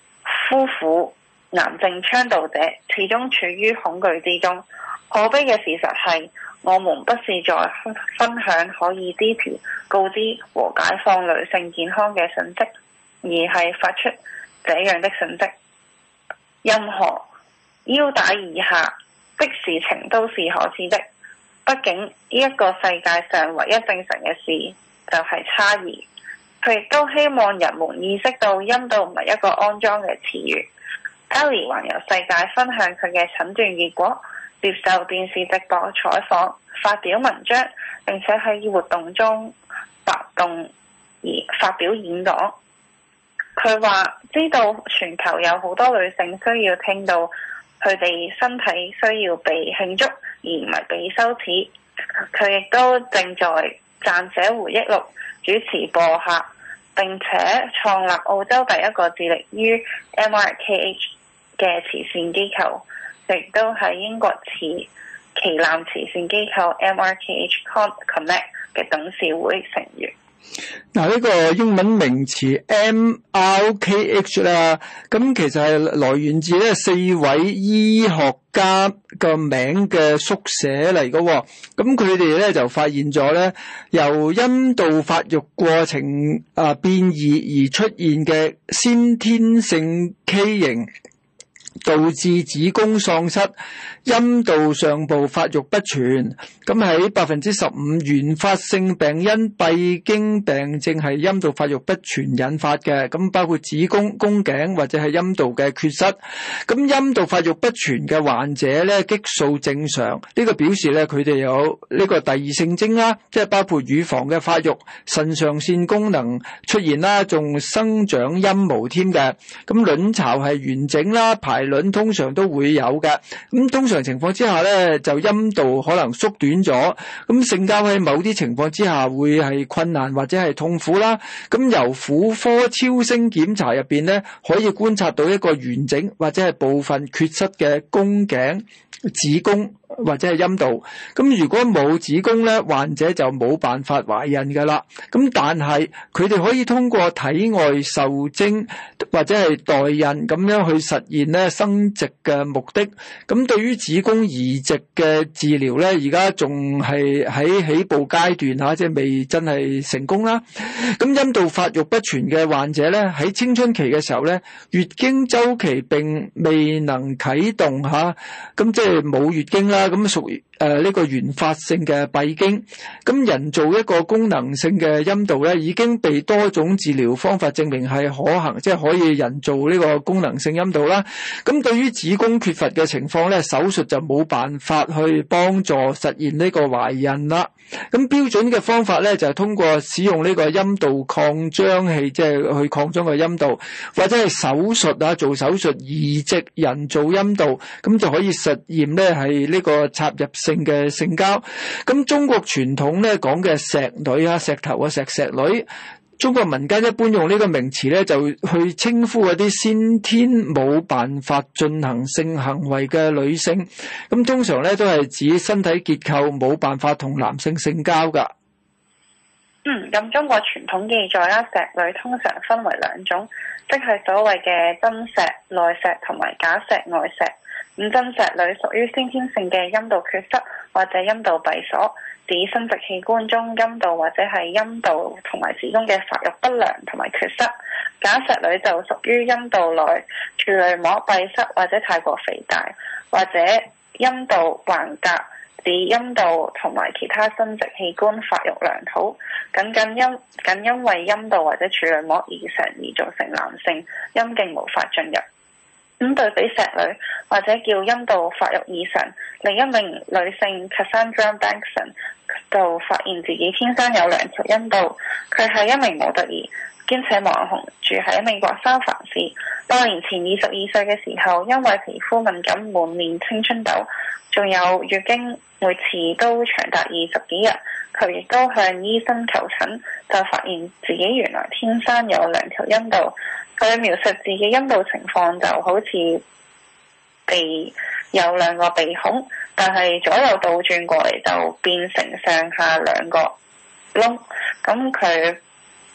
夫婦癌症倡導者始終處於恐懼之中。可悲嘅事實係，我們不是在分享可以支持、告知和解放女性健康嘅訊息，而係發出這樣的訊息：任何腰帶以下的事情都是可恥的。畢竟呢一個世界上唯一正常嘅事就係差異。佢亦都希望人們意識到陰道唔係一個骯髒嘅詞語。Ellie 環遊世界分享佢嘅診斷結果，接受電視直播採訪，發表文章，並且喺活動中發動而發表演講。佢話知道全球有好多女性需要聽到佢哋身體需要被慶祝，而唔係被羞恥。佢亦都正在撰寫回憶錄、主持播客，並且創立澳洲第一個致力於 M R K H 嘅慈善機構，亦都係英國慈旗艦慈善機構 M R K H Connect 嘅董事會成員。 嗱，呢個英文名詞 M R K H 啦，咁其實係來源自咧四位醫學家個名嘅縮寫嚟嘅。咁佢哋咧就發現咗咧，由陰道發育過程啊變異而出現嘅先天性畸形，導致子宮喪失，陰道上部發育不全。咁喺百分之十五原發性病因閉經病症係陰道發育不全引發嘅，咁包括子宮、宮頸或者係陰道嘅缺失。咁陰道發育不全嘅患者咧，激素正常，呢個表示咧佢哋有呢個第二性徵啦，即係包括乳房嘅發育、腎上腺功能出現啦，仲生長陰毛添嘅。咁卵巢係完整啦，排卵通常都會有嘅。咁通常情況之下咧，就陰道可能縮短咗，咁性交喺某啲情況之下會係困難或者係痛苦啦。咁由婦科超聲檢查入邊咧，可以觀察到一個完整或者係部分缺失嘅宮頸、子宮或者係陰道。咁如果冇子宮咧，患者就冇辦法懷孕噶啦。咁但係佢哋可以通過體外受精或者係代孕咁樣去實現咧生殖嘅目的。咁對於子宮移植嘅治療咧，而家仲係喺起步階段吓，即係未真係成功啦。咁陰道發育不全嘅患者咧，喺青春期嘅時候咧，月經周期並未能啟動吓，咁即係冇月經啦。咁屬於誒呢個原發性嘅閉經。咁人造一個功能性嘅陰道咧，已經被多種治療方法證明係可行，即係可以人造呢個功能性陰道啦。咁對於子宮缺乏嘅情況咧，手術就冇辦法去幫助實現呢個懷孕啦。咁標準嘅方法咧，就係通過使用呢個陰道擴張器，即係去擴張個陰道，或者係手術啊，做手術移植人造陰道，咁就可以實驗咧係呢個插入性嘅性交。咁中國傳統咧講嘅石女啊，石頭啊，石石女。中國民間一般用呢個名詞咧，就去稱呼嗰啲先天冇辦法進行性行為嘅女性。咁通常咧都係指身體結構冇辦法同男性性交噶。 嗯，咁中國傳統記載啦，石女通常分為兩種，即係所謂嘅真石、內石同埋假石、外石。咁真石女屬於先天性嘅陰道缺失或者陰道閉鎖，指生殖器官中陰道或者係陰道同埋子宮嘅發育不良同埋缺失。假石女就屬於陰道內處女膜閉塞或者太過肥大，或者陰道橫隔，指陰道同埋其他生殖器官發育良好，僅僅因僅因為陰道或者處女膜異常而造成男性陰莖無法進入。咁對比石女或者叫陰道發育異常，另一名女性 Cassandra Bankson 就發現自己天生有兩條陰道。佢係一名模特兒兼且網紅，住喺美國三藩市。多年前二十二歲嘅時候，因為皮膚敏感滿面青春痘，仲有月經每次都長達二十幾日，佢亦都向醫生求診，就發現自己原來天生有兩條陰道。佢描述自己陰道情況就好似鼻有兩個鼻孔，但係左右倒轉過嚟就變成上下兩個窿。咁佢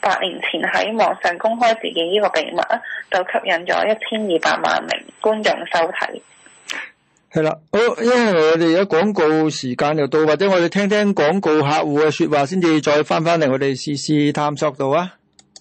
八年前喺網上公開自己呢個秘密啊，就吸引咗一千二百萬名觀眾收睇。 係啦，好，因為我哋而家廣告時間又到，或者我哋聽聽廣告客戶嘅說話先至再翻翻嚟我哋時事探索度啊。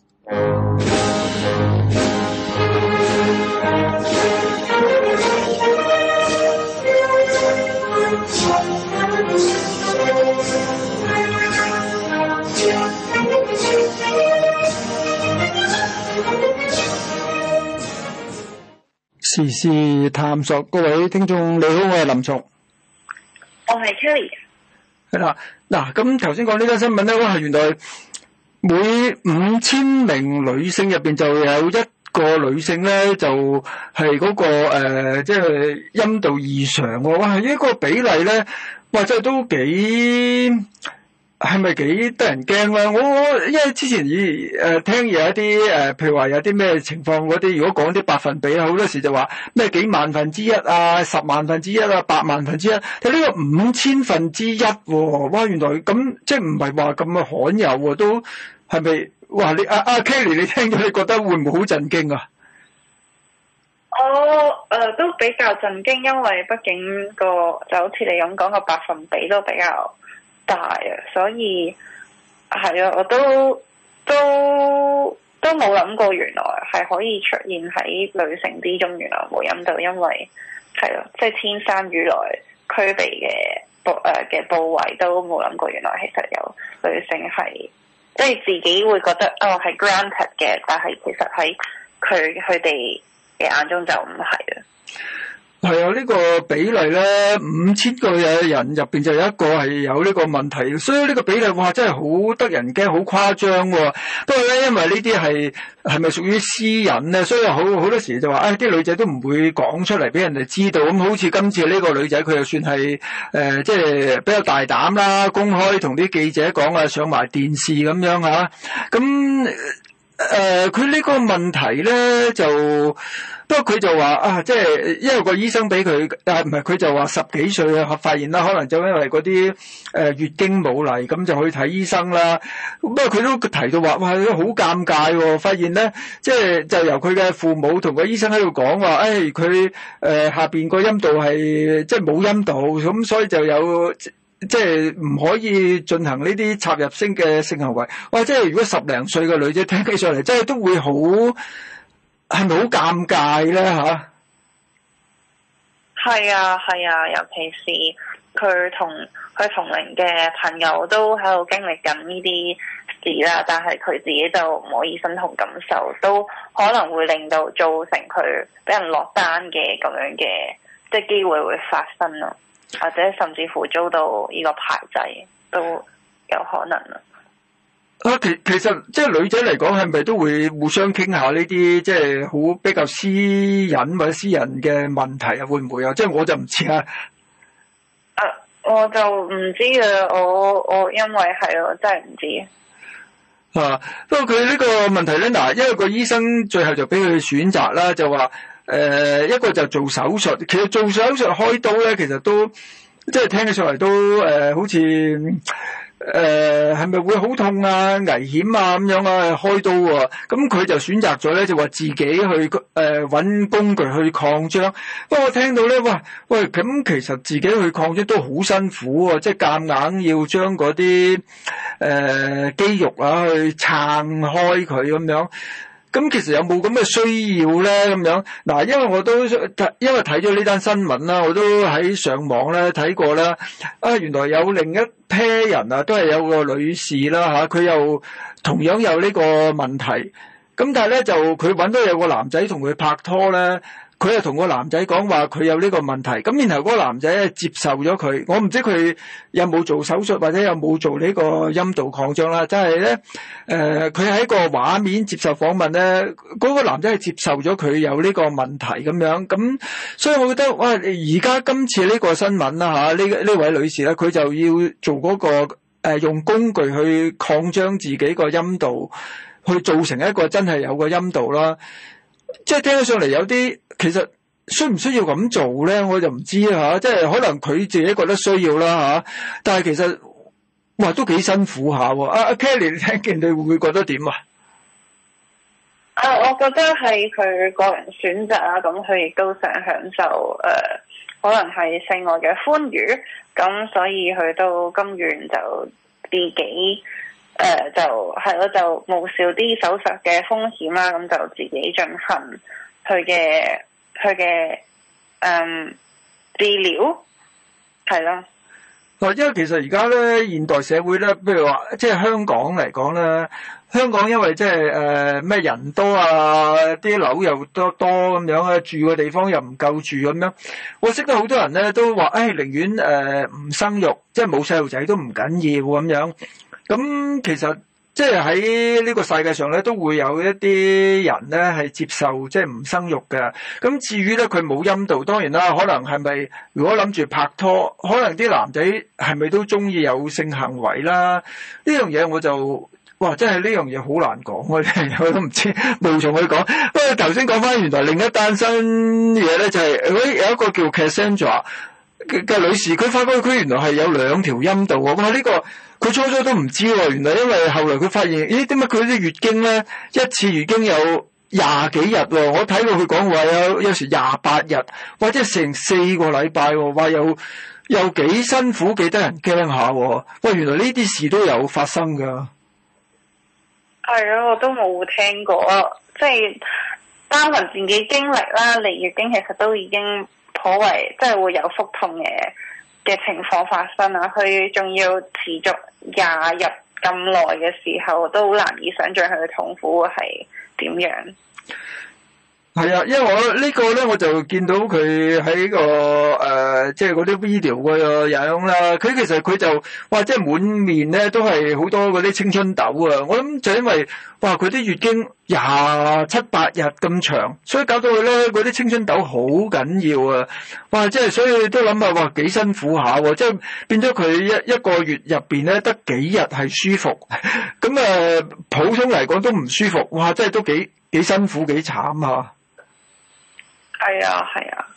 時事探索，各位聽眾你好，我係林松， 我係 Kelly。 係啦，嗱，咁頭先講呢單新聞咧，哇，原來每五千名女性入邊就有一個女性咧，就係嗰個誒，即係陰道異常喎，哇，呢個比例咧，哇，真係都幾。係咪幾得人驚咧？我我因為之前以誒、呃、聽有一啲誒、呃，譬如話有啲咩情況嗰啲，如果講啲百分比，好多時就話咩幾萬分之一啊、十萬分之一啊、百萬分之一，但呢個五千分之一喎，哇！原來咁即係唔係話咁嘅罕有喎，都係咪？哇！你阿阿 Kelly，你聽咗你覺得會唔會好震驚啊？ 我誒、呃、都比較震驚，因為畢竟個就好似你咁講個百分比都比較大啊，所以係啊，我都都都冇諗過原來係可以出現喺女性之中，原來冇陰道，因為係咯，即係、就是、天生與來區別嘅部誒嘅部位都冇諗過，原來其實有女性係即係自己會覺得哦係 granted 嘅，但係其實喺佢佢哋嘅眼中就唔係啊。 係啊，呢個比例咧，五千個嘅人入邊就有一個係有呢個問題，所以呢個比例哇真係好得人驚，好誇張喎。不過咧，因為呢啲係係咪屬於私隱咧，所以好好多時就話，誒、哎、啲女仔都唔會講出嚟俾人哋知道。咁好似今次呢個女仔，佢又算係誒即係比較大膽啦，公開同啲記者講啊，上埋電視咁樣嚇。咁誒佢呢個問題咧就。不過佢就話啊，即係因為個醫生俾佢，啊唔係佢就話十幾歲啊發現啦，可能就因為嗰啲誒月經冇嚟，咁就去睇醫生啦。不過佢都提到話，哇，好尷尬喎！發現咧，即係就由佢嘅父母同個醫生喺度講話，誒佢誒下邊個陰道係即係冇陰道，咁所以就有即係唔可以進行呢啲插入式嘅性行為。哇！即係如果十零歲嘅女仔聽起上嚟，真係都會好。係咪好尷尬咧？吓， 係啊，係啊，尤其是佢同佢同齡嘅朋友都喺度經歷緊呢啲事啦，但係佢自己就唔可以身同感受，都可能會令到造成佢俾人落單嘅咁樣嘅即係機會會發生咯，或者甚至乎遭到呢個排擠都有可能啊。 啊，其其實即係女仔嚟講，係咪都會互相傾下呢啲即係好比較私隱或者私人嘅問題啊？會唔會啊？即係我就唔知啊。 啊，我就唔知啊，我我因為係我真係唔知。 啊，不過佢呢個問題咧，嗱，因為個醫生最後就俾佢選擇啦，就話誒、呃、一個就做手術，其實做手術開刀咧，其實都即係聽起上嚟都誒、呃、好似。誒係咪會好痛啊、危險啊咁樣啊開刀喎、啊？咁佢就選擇咗咧，就話自己去誒揾、呃、工具去擴張。不過我聽到咧，哇喂，咁其實自己去擴張都好辛苦喎、啊，即係夾硬要將嗰啲誒肌肉啊去撐開佢咁樣。咁其實有冇咁嘅需要咧？咁樣嗱，因為我都因為睇咗呢單新聞啦，我都喺上網咧睇過啦。啊，原來有另一批人啊，都係有個女士啦嚇，佢又同樣有呢個問題。咁但係咧就佢揾到有個男仔同佢拍拖咧。佢又同個男仔講話佢有呢個問題，咁然後嗰個男仔接受咗佢，我唔知佢有冇做手術或者有冇做呢個陰道擴張啦，即係咧誒，佢喺個畫面接受訪問咧，嗰個男仔係接受咗佢有呢個問題咁樣，咁所以我覺得哇，而家今次呢個新聞啦嚇，呢呢位女士咧，佢就要做嗰個誒用工具去擴張自己個陰道，去造成一個真係有個陰道啦。即係聽起上嚟有啲，其實需唔需要咁做咧？我就唔知吓，即係可能佢自己覺得需要啦吓，但係其實哇都幾辛苦下喎。阿阿 Kelly，你聽見你會唔會覺得點啊？ 啊，我覺得係佢個人選擇啦，咁佢亦都想享受誒、呃，可能係性愛嘅歡愉，咁所以佢都甘願就自己誒、呃、就係咯，就冒少啲手術嘅風險啦，咁就自己進行佢嘅佢嘅誒治療，係咯。 嗱，因為其實而家咧現代社會咧，譬如話即係香港嚟講咧。香港因為即係誒咩人多啊，啲樓又多多咁樣啊，住嘅地方又唔夠住咁樣。我識得好多人咧都話，誒、哎、寧願誒唔生育，即係冇細路仔都唔緊要咁樣。咁其實即係喺呢個世界上咧，都會有一啲人咧係接受即係唔生育嘅。咁至於咧佢冇陰道，當然啦，可能係咪如果諗住拍拖，可能啲男仔係咪都中意有性行為啦？呢樣嘢我就。哇！真係呢樣嘢好難講，我我都唔知，無從去講。不過頭先講翻，原來另一單新嘢咧，就係、是、有一個叫 Cassandra 嘅嘅女士，佢發覺佢原來係有兩條陰道喎。哇！呢、這個佢初初都唔知喎，原來因為後來佢發現，咦？點解佢啲月經咧一次月經有廿幾日喎？我睇到佢講話有有時廿八日，或者成四個禮拜喎，話有又幾辛苦，幾得人驚下喎。喂，原來呢啲事都有發生㗎。 係啊，我都冇聽過，即係單憑自己經歷啦，嚟月經其實都已經頗為即係會有腹痛嘅嘅情況發生啦。佢仲要持續廿日咁耐嘅時候，都好難以想像佢嘅痛苦係點樣。 係啊，因為我呢個咧，我就見到佢喺個誒，即係嗰啲 video 個樣啦。佢其實佢就哇，即係滿面咧都係好多嗰啲青春痘啊！我諗就因為哇，佢啲月經廿七八日咁長，所以搞到佢咧嗰啲青春痘好緊要啊！哇，即係所以都諗下哇，幾辛苦下喎！即係變咗佢一一個月入邊咧得幾日係舒服，咁啊、呃、普通嚟講都唔舒服，哇！真係都幾幾辛苦幾慘啊！ 係啊，係啊，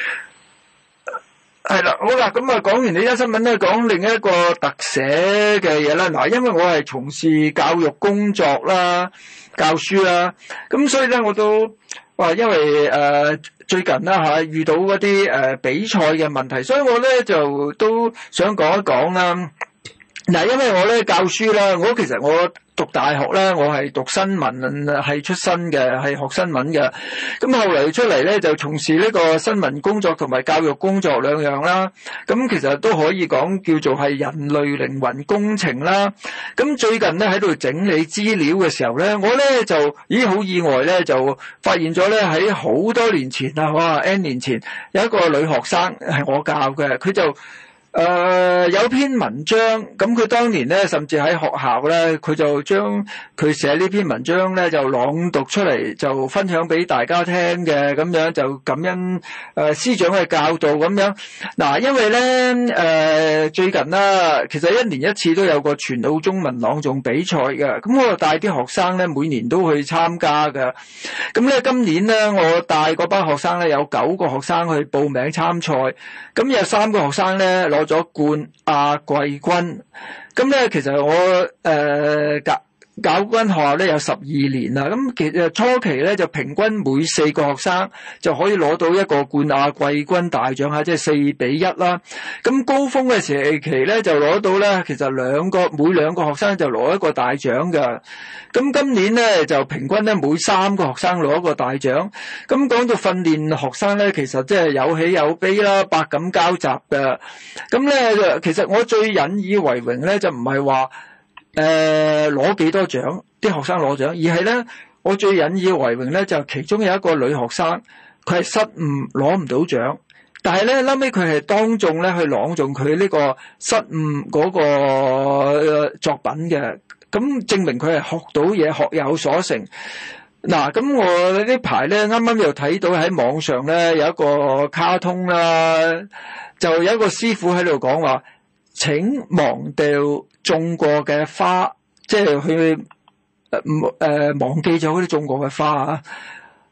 係啦，好啦，咁啊，講完呢一新聞咧，講另一個特寫嘅嘢啦。嗱，因為我係從事教育工作啦，教書啦，咁所以咧我都話，因為誒、呃、最近啦吓遇到嗰啲誒比賽嘅問題，所以我咧就都想講一講啦。嗱，因為我咧教書啦，我其實我讀大學咧，我係讀新聞係出身嘅，係學新聞嘅。咁後嚟出嚟咧，就從事呢個新聞工作同埋教育工作兩樣啦。咁其實都可以講叫做係人類靈魂工程啦。咁最近咧喺度整理資料嘅時候咧，我咧就咦好意外咧，就發現咗咧喺好多年前啊，哇 N 年前有一個女學生係我教嘅，佢就。誒、呃，有篇文章，咁佢當年咧，甚至喺學校咧，佢就將佢寫呢篇文章咧，就朗讀出嚟，就分享俾大家聽嘅，咁樣就感恩誒、呃、師長嘅教導咁樣。嗱，因為咧誒、呃、最近啦，其實一年一次都有個全澳中文朗誦比賽嘅，咁我就帶啲學生咧，每年都去參加嘅。咁咧今年咧，我帶嗰班學生咧，有九個學生去報名參賽，咁有三個學生咧攞咗冠亞季軍，咁咧其實我誒教教嗰間學校咧有十二年啦，咁其實初期咧就平均每四個學生就可以攞到一個冠亞季軍大獎吓，即係四比一啦。咁高峰嘅時期咧就攞到咧，其實兩個每兩個學生就攞一個大獎㗎。咁今年咧就平均咧每三個學生攞一個大獎。咁講到訓練學生咧，其實即係有喜有悲啦，百感交集嘅。咁咧其實我最引以為榮咧就唔係話誒攞幾多獎，啲學生攞獎，而係咧我最引以為榮咧就其中有一個女學生，佢係失誤攞唔到獎，但係咧後尾佢係當眾咧去朗誦佢呢個失誤嗰個作品嘅。咁證明佢係學到嘢，學有所成。嗱，咁我呢排咧啱啱又睇到喺網上咧有一個卡通啦，就有一個師傅喺度講話，請忘掉種過嘅花，即係佢誒誒忘記咗嗰啲種過嘅花啊。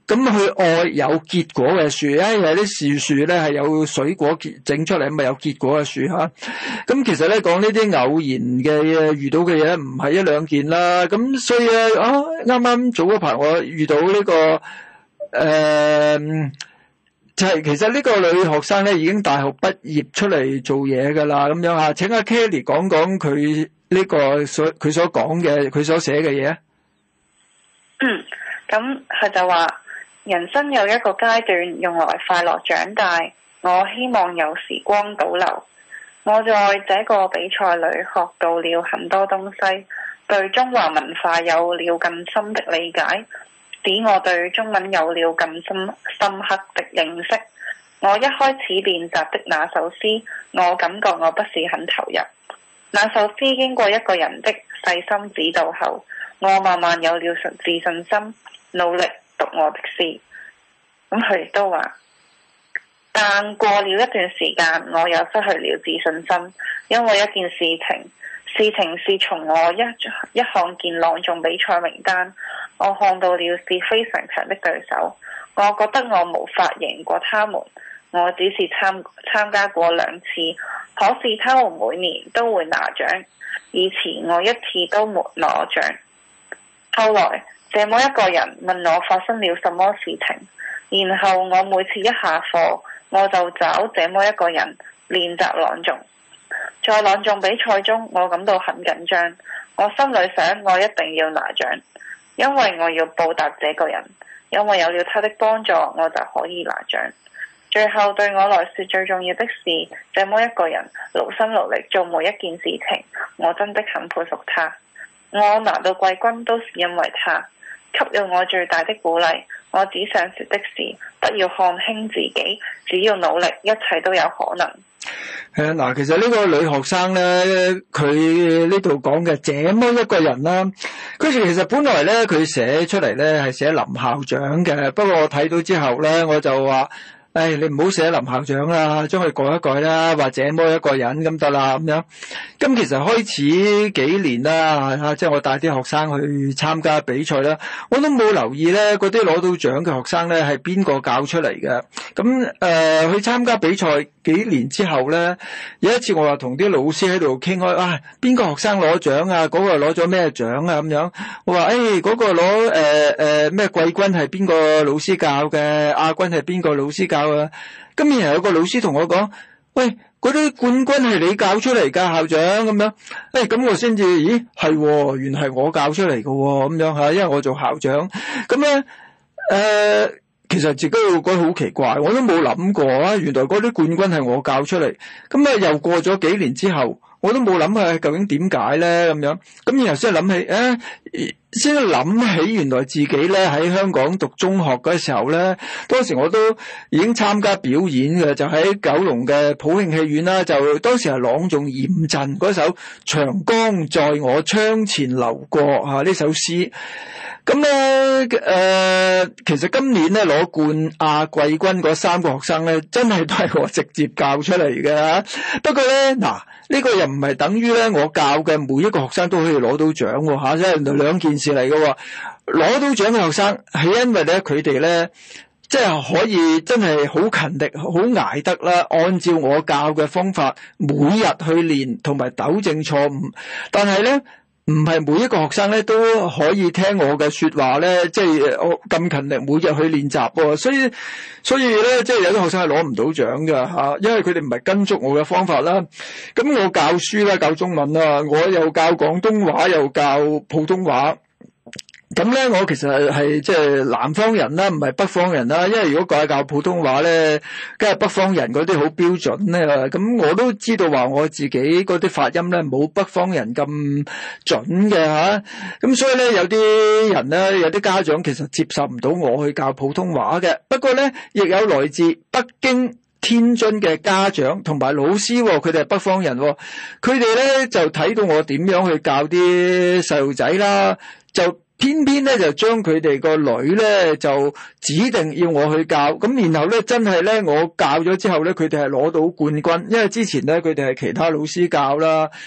咁去愛有結果嘅樹，因為有啲樹樹咧係有水果結整出嚟，咪有結果嘅樹吓。咁其實咧講呢啲偶然嘅遇到嘅嘢唔係一兩件啦。咁所以咧啊，啱啱早嗰排我遇到呢、這個誒、呃，就係、是、其實呢個女學生咧已經大學畢業出嚟做嘢噶啦，咁樣吓。請阿 Kelly 講講佢呢個所佢所講嘅佢所寫嘅嘢。 嗯，咁佢就話。人生有一個階段用來快樂長大，我希望有時光倒流。我在這個比賽裏學到了很多東西，對中華文化有了更深的理解，使我對中文有了更深深刻的認識。我一開始練習的那首詩，我感覺我不是很投入。那首詩經過一個人的細心指導後，我慢慢有了自信心，努力讀我的詩。咁佢亦都話，但過了一段時間，我又失去了自信心，因為一件事情，事情是從我一一看見朗誦比賽名單，我看到了是非常強的對手，我覺得我無法贏過他們，我只是參參加過兩次，可是他們每年都會拿獎，以前我一次都沒攞獎。後來這麼一個人問我發生了什麼事情，然後我每次一下課，我就找這麼一個人練習朗誦。在朗誦比賽中，我感到很緊張，我心裏想我一定要拿獎，因為我要報答這個人，因為有了他的幫助，我就可以拿獎。最後對我來說最重要的是，這麼一個人勞心勞力做每一件事情，我真的很佩服他。我拿到季軍都是因為他，給了我最大的鼓勵。我只想說的是，不要看輕自己，只要努力，一切都有可能。 係啊，嗱，其實呢個女學生咧，佢呢度講嘅這麼一個人啦，佢其實本來咧佢寫出嚟咧係寫林校長嘅，不過我睇到之後咧，我就話。唉，你唔好寫林校長啦，將佢改一改啦，或者這麼一個人咁得啦，咁樣。咁其實開始幾年啦，吓，即係我帶啲學生去參加比賽啦，我都冇留意咧，嗰啲攞到獎嘅學生咧係邊個教出嚟嘅。咁誒、呃，去參加比賽幾年之後咧，有一次我話同啲老師喺度傾開，啊，邊個學生攞獎啊？嗰、那個攞咗咩獎啊？咁樣，我話誒，嗰、那個攞誒誒咩季軍係邊個老師教嘅？亞軍係邊個老師教？咁然後有個老師同我講，喂，嗰啲冠軍係你教出嚟㗎，校長咁樣。誒，咁我先至，咦，係，原來係我教出嚟㗎喎，咁樣吓，因為我做校長。咁咧，誒、呃，其實自己會覺得好奇怪，我都冇諗過啊，原來嗰啲冠軍係我教出嚟。咁啊，又過咗幾年之後，我都冇諗下究竟點解咧咁樣。咁然後先諗起，誒、啊。先諗起原來自己咧喺香港讀中學嗰時候咧，當時我都已經參加表演嘅，就喺九龍嘅普慶戲院啦，就當時係朗誦嚴陣嗰首《長江在我窗前流過》啊呢首詩。咁咧誒，其實今年咧攞冠亞季軍嗰三個學生咧，真係都係我直接教出嚟嘅。不過咧嗱。呢個又唔係等於咧，我教嘅每一個學生都可以攞到獎喎嚇，即係兩件事嚟嘅喎。攞到獎嘅學生係因為咧佢哋咧，即係可以真係好勤力、好捱得啦，按照我教嘅方法每日去練同埋糾正錯誤。但係咧，唔係每一個學生咧都可以聽我嘅說話咧，即係我咁勤力每日去練習喎。所以所以咧，即係有啲學生係攞唔到獎㗎吓，因為佢哋唔係跟足我嘅方法啦。咁我教書啦，教中文啦，我又教廣東話，又教普通話。咁咧，我其實係即係南方人啦，唔係北方人啦。因為如果教教普通話咧，梗係北方人嗰啲好標準咧。咁我都知道話我自己嗰啲發音咧冇北方人咁準嘅吓。咁所以咧，有啲人咧，有啲家長其實接受唔到我去教普通話嘅。不過咧，亦有來自北京、天津嘅家長同埋老師，佢哋係北方人，佢哋咧就睇到我點樣去教啲細路仔啦，就偏偏咧就將佢哋個女咧就指定要我去教，咁然後咧真係咧我教咗之後咧，佢哋係攞到冠軍，因為之前咧佢哋係其他老師教啦。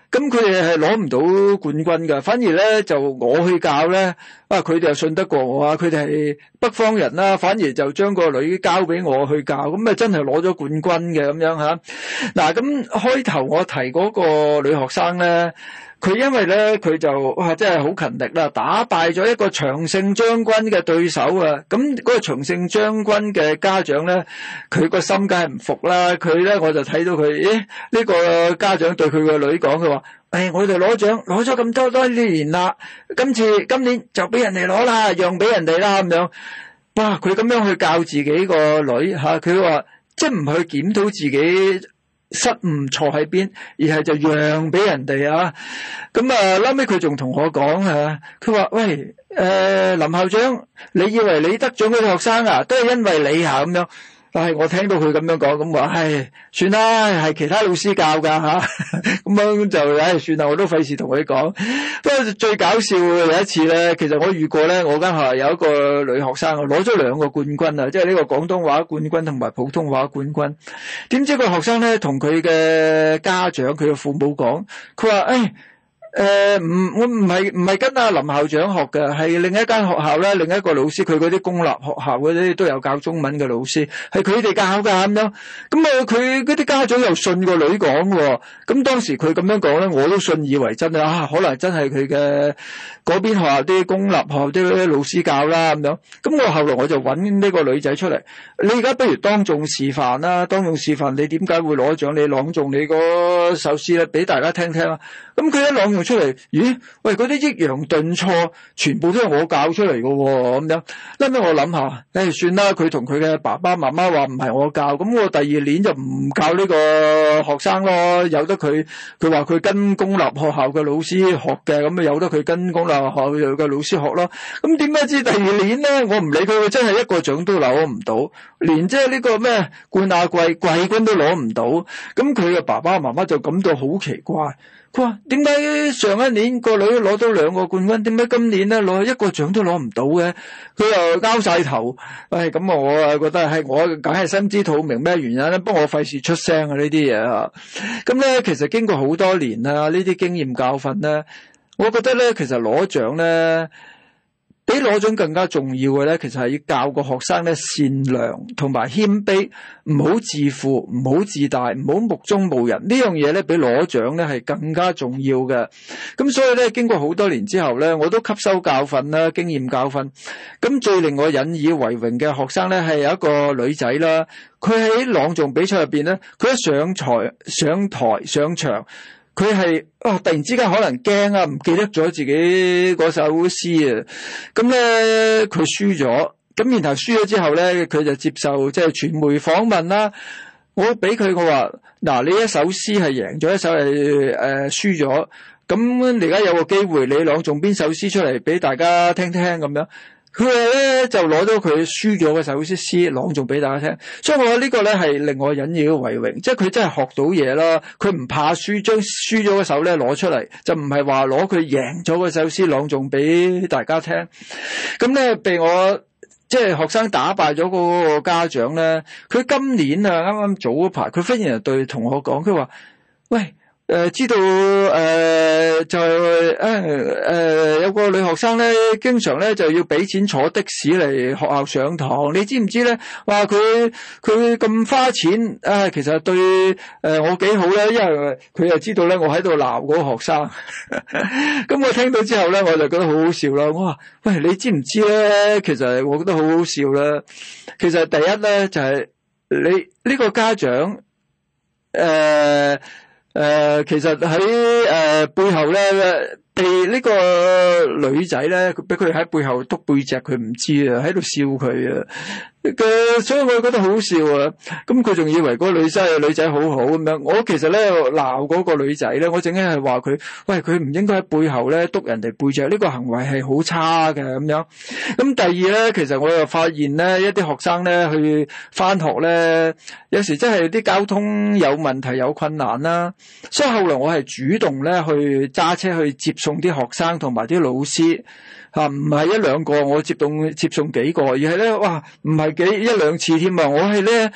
咁佢哋係攞唔到冠軍㗎，反而咧就我去教咧，啊佢哋又信得過我啊，佢哋係北方人啦，反而就將個女交俾我去教，咁啊真係攞咗冠軍嘅咁樣吓。嗱，咁開頭我提嗰個女學生咧。佢因為咧，佢就哇真係好勤力啦，打敗咗一個長勝將軍嘅對手啊！咁嗰個長勝將軍嘅家長咧，佢個心梗係唔服啦。佢咧我就睇到佢，咦？呢個家長對佢個女講，佢話：誒，我哋攞獎攞咗咁多多年啦，今次今年就俾人哋攞啦，讓俾人哋啦咁樣。哇！佢咁樣去教自己個女嚇，佢話即係唔去檢討自己失誤錯喺邊，而係就讓俾人哋啊！咁啊，後尾佢仲同我講啊，佢話：喂，誒、呃，林校長，你以為你得獎嗰啲學生啊，都係因為你啊咁樣？但係我聽到佢咁樣講，咁話，唉，算啦，係其他老師教噶吓，咁樣就唉算啦，我都費事同佢講。不過最搞笑嘅有一次咧，其實我遇過咧，我間學校有一個女學生啊，攞咗兩個冠軍啊，即係呢個廣東話冠軍同埋普通話冠軍。點知個學生咧同佢嘅家長、佢嘅父母講，佢話：誒。誒，唔、呃，我唔係唔係跟阿林校長學嘅，係另一間學校咧，另一個老師，佢嗰啲公立學校嗰啲都有教中文嘅老師，係佢哋教噶咁樣。咁啊，佢嗰啲家長又信個女講喎。咁當時佢咁樣講咧，我都信以為真啊，可能真係佢嘅嗰邊學校啲公立學校啲老師教啦咁樣。咁我後來我就揾呢個女仔出嚟，你而家不如當眾示範啦，當眾示範你點解會攞獎，你朗誦你嗰首詩咧，俾大家聽聽啊。咁佢一朗誦出嚟，咦？喂，嗰啲抑揚頓挫，全部都係我教出嚟嘅喎，咁樣。後尾我諗下，誒，算啦，佢同佢嘅爸爸媽媽話唔係我教，咁我第二年就唔教呢個學生咯，由得佢。佢話佢跟公立學校嘅老師學嘅，咁啊由得佢跟公立學校嘅老師學咯。咁點解知第二年咧，我唔理佢，真係一個獎都攞唔到，連即係呢個咩冠亞季季軍都攞唔到。咁佢嘅爸爸媽媽就感到好奇怪。佢話：點解上一年個女攞到兩個冠軍，點解今年咧攞一個獎都攞唔到嘅？佢又交晒頭。唉，咁我啊覺得係我梗係心知肚明咩原因咧，不過我費事出聲啊呢啲嘢啊。咁咧其實經過好多年啊，呢啲經驗教訓咧，我覺得咧其實攞獎咧，比攞獎更加重要嘅咧，其實係要教個學生咧善良同埋謙卑，唔好自負，唔好自大，唔好目中無人。呢樣嘢咧，比攞獎咧係更加重要嘅。咁所以咧，經過好多年之後咧，我都吸收教訓啦，經驗教訓。咁最令我引以為榮嘅學生咧，係有一個女仔啦。佢喺朗誦比賽入邊咧，佢一上台、上台、上場。佢係啊，突然之間可能驚啊，唔記得咗自己嗰首詩啊，咁咧佢輸咗，咁然後輸咗之後咧，佢就接受即係傳媒訪問啦。我俾佢我話，嗱，你一首詩係贏咗，一首係誒、呃、輸咗，咁你而家有個機會，你朗誦邊首詩出嚟俾大家聽聽咁樣。佢咧就攞咗佢輸咗嘅首詩詩朗誦俾大家聽，所以我覺得呢個咧係令我引以為榮，即係佢真係學到嘢啦。佢唔怕輸，將輸咗嘅首咧攞出嚟，就唔係話攞佢贏咗嘅首詩朗誦俾大家聽。咁咧被我即係學生打敗咗嗰個家長咧，佢今年啊啱啱早嗰排，佢忽然就對同學講，佢話：喂！誒、呃，知道誒、呃，就誒誒、呃，有個女學生咧，經常咧就要俾錢坐的士嚟學校上堂。你知唔知咧？話佢佢咁花錢，啊，其實對誒、呃、我幾好咧，因為佢又知道咧，我喺度鬧嗰個學生。咁我聽到之後咧，我就覺得好好笑啦。我話：喂，你知唔知咧？其實我覺得好好笑啦。其實第一咧就係、是、你呢個家長誒。呃誒、呃，其實喺誒、呃、背後咧，被呢個女仔咧，俾佢喺背後督背脊，佢唔知啊，喺度笑佢啊。嘅，所以我覺得好笑啊！咁佢仲以為嗰個女仔女仔好好咁樣。我其實咧鬧嗰個女仔咧，我正經係話佢，喂，佢唔應該喺背後咧督人哋背脊，呢個行為係好差嘅咁樣。咁第二咧，其實我又發現咧，一啲學生咧去返學咧，有時真係啲交通有問題有困難啦。所以後來我係主動咧去揸車去接送啲學生同埋啲老師。吓，唔係一兩個，我接送接送幾個，而係咧，哇，唔係幾一兩次添啊！我係咧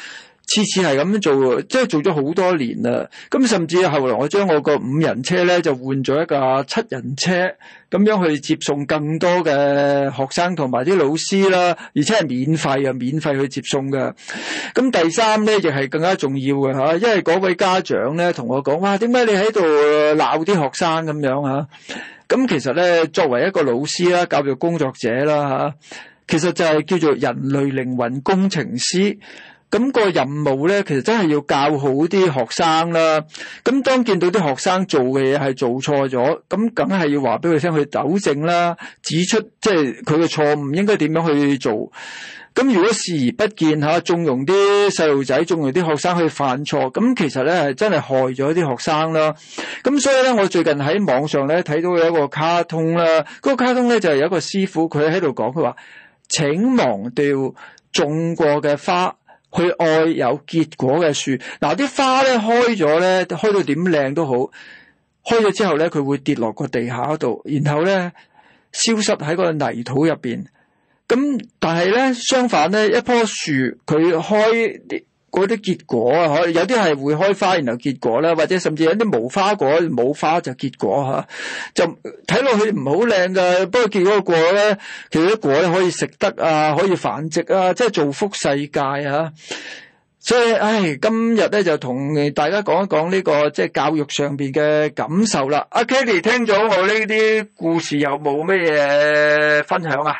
次次係咁做，即係做咗好多年啦。咁甚至後來我將我個五人車咧就換咗一架七人車，咁樣去接送更多嘅學生同埋啲老師啦，而且係免費啊，免費去接送嘅。咁第三咧亦係更加重要嘅吓，因為嗰位家長咧同我講，哇，點解你喺度鬧啲學生咁樣啊？咁其實咧，作為一個老師啦、教育工作者啦吓，其實就係叫做人類靈魂工程師。咁個任務咧，其實真係要教好啲學生啦。咁當見到啲學生做嘅嘢係做錯咗，咁梗係要話俾佢聽去糾正啦，指出即係佢嘅錯誤應該點樣去做。咁如果視而不見吓，縱容啲細路仔，縱容啲學生去犯錯，咁其實咧係真係害咗啲學生啦。咁所以咧，我最近喺網上咧睇到有一個卡通啦，嗰個卡通咧就係有一個師傅佢喺度講，佢話請忘掉種過嘅花，去愛有結果嘅樹。嗱，啲花咧開咗咧，開到點靚都好，開咗之後咧，佢會跌落個地下度，然後咧消失喺個泥土入邊。咁但係咧，相反咧，一棵樹佢開啲嗰啲結果啊，可有啲係會開花然後結果啦，或者甚至有啲無花果冇花就結果吓，就睇落去唔好靚噶。不過結果個果咧，其實啲果咧可以食得啊，可以繁殖啊，即係造福世界啊。所以，唉，今日咧就同大家講一講呢個即係教育上邊嘅感受啦。阿 Kelly 聽咗我呢啲故事，有冇咩嘢分享啊？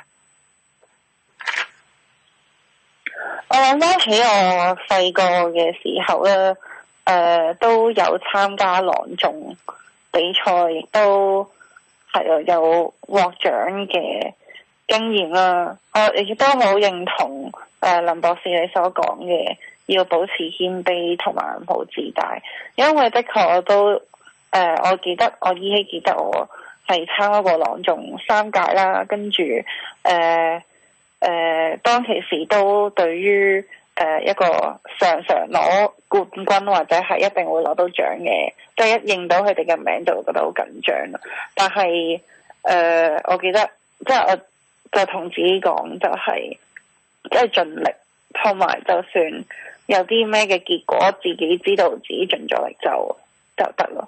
我諗翻起我細個嘅時候咧，誒、呃、都有參加朗誦比賽，亦都係啊有獲獎嘅經驗啦。我亦都好認同誒、呃、林博士你所講嘅，要保持謙卑同埋唔好自大，因為的確我都誒、呃，我記得我依稀記得我係參加過朗誦三屆啦，跟住誒。呃誒、呃，當其時都對於誒、呃、一個常常攞冠軍或者係一定會攞到獎嘅，即係一認到佢哋嘅名就會覺得好緊張。但係誒、呃，我記得即係我就同自己講，就係即係盡力，同埋就算有啲咩嘅結果，自己知道自己盡咗力就就得咯。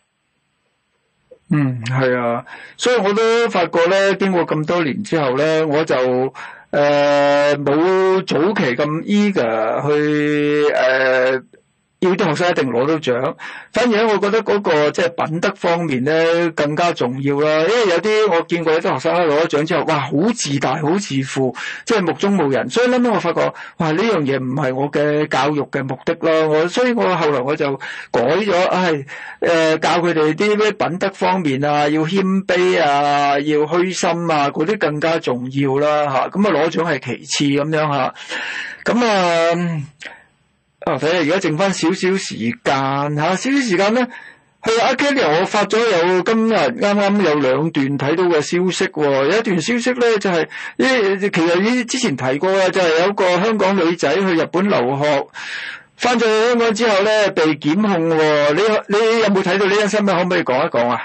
嗯，係啊，所以我都發覺咧，經過咁多年之後咧，我就誒冇、呃、早期咁 eager 去誒。呃要啲學生一定攞到獎，反而咧，我覺得嗰個即係品德方面咧更加重要啦。因為有啲我見過有啲學生咧攞咗獎之後，哇，好自大，好自負，即係目中無人。所以咧，我發覺，哇，呢樣嘢唔係我嘅教育嘅目的咯。我所以我後來我就改咗，唉，誒、呃，教佢哋啲咩品德方面啊，要謙卑啊，要虛心啊，嗰啲更加重要啦，吓。咁啊，攞獎係其次咁樣吓。咁啊。啊！睇下而家剩翻少少時間吓，少少時間咧，係阿 Kelly，我發咗有今日啱啱有兩段睇到嘅消息，有一段消息咧就係、是，其實呢之前提過啦，就係、是、有個香港女仔去日本留學，翻咗去香港之後咧被檢控，你你有冇睇到呢單新聞？可唔可以講一講啊？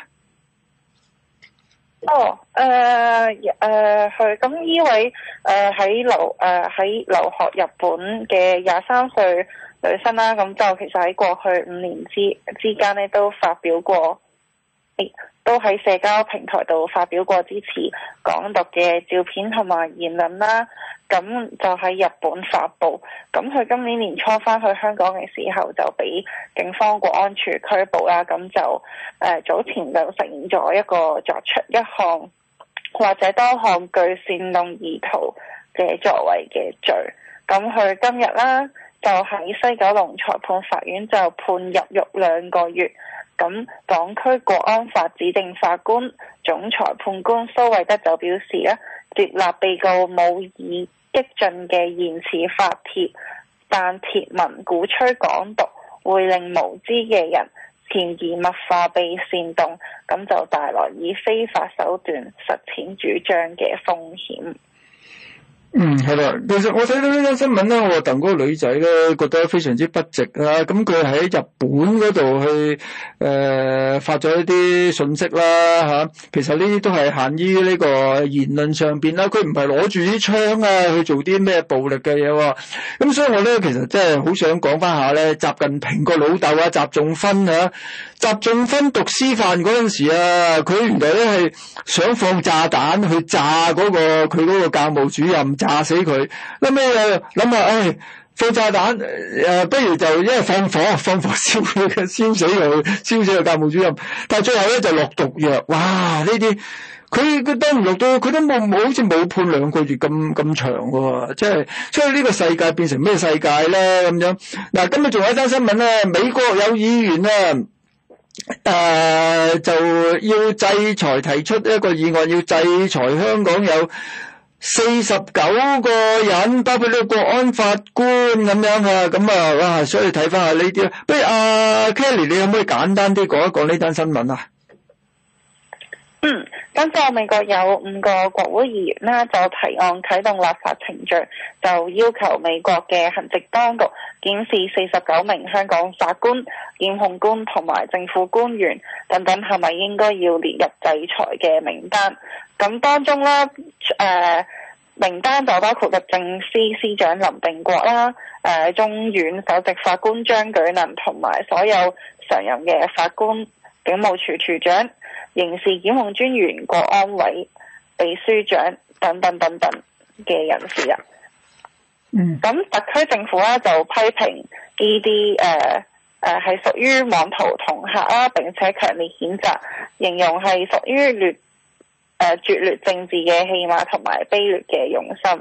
哦，誒、呃，誒、呃，佢咁呢位誒喺留誒喺留學日本嘅廿三歲女生啦，咁就其實喺過去五年之之間咧都發表過，都喺社交平台度發表過支持港獨嘅照片同埋言論啦，咁就喺日本發布。咁佢今年年初翻去香港嘅時候就俾警方國安處拘捕啦，咁就誒、呃、早前就承認咗一個作出一項或者多項具煽動意圖嘅作為嘅罪。咁佢今日啦就喺西九龍裁判法院就判入獄兩個月。咁港區國安法指定法官總裁判官蘇惠德就表示咧，接納被告冇以激進嘅言辭發帖，但貼文鼓吹港獨會令無知嘅人潛移默化被煽動，咁就帶來以非法手段實踐主張嘅風險。 嗯，係啦。其實我睇到呢單新聞咧，我戥嗰個女仔咧覺得非常之不值啦。咁佢喺日本嗰度去誒、呃、發咗一啲信息啦嚇、啊。其實呢啲都係限於呢個言論上邊啦。佢唔係攞住啲槍啊去做啲咩暴力嘅嘢喎。咁所以我咧其實真係好想講翻下咧，習近平個老豆啊，習仲勳啊，習仲勳讀師範嗰陣時啊，佢原來咧係想放炸彈去炸嗰、嗰個佢嗰個教務主任。炸死佢，諗咩諗下，唉，放炸彈，誒、呃，不如就因為放火，放火燒佢，燒死佢，燒死個教務主任。但係最後咧就落毒藥，哇！呢啲佢佢都唔落到，佢都冇冇好似冇判兩個月咁咁長喎，即係所以呢個世界變成咩世界咧咁樣？嗱，今日仲有一單新聞咧，美國有議員啊。誒、呃，就要制裁，提出一個議案，要制裁香港有四十九個人，包括呢個國安法官咁樣啊，咁啊，哇！所以睇翻下呢啲，不如阿、啊、Kelly，你可唔可以簡單啲講一講呢單新聞啊？ 嗯，今次美國有五個國會議員啦，就提案啟動立法程序，就要求美國嘅行政當局檢視四十九名香港法官、檢控官同埋政府官員等等係咪應該要列入制裁嘅名單。咁當中啦，誒、呃、名單就包括律政司司長林定國啦，誒、呃、中院首席法官張舉能同埋所有常任嘅法官、警務處處長、刑事檢控專員、國安委秘書長等等等等嘅人士啊。嗯。咁特區政府咧就批評呢啲誒誒係屬於妄圖恫嚇啦，並且強烈譴責，形容係屬於劣誒、呃、拙劣政治嘅戲碼同埋卑劣嘅用心。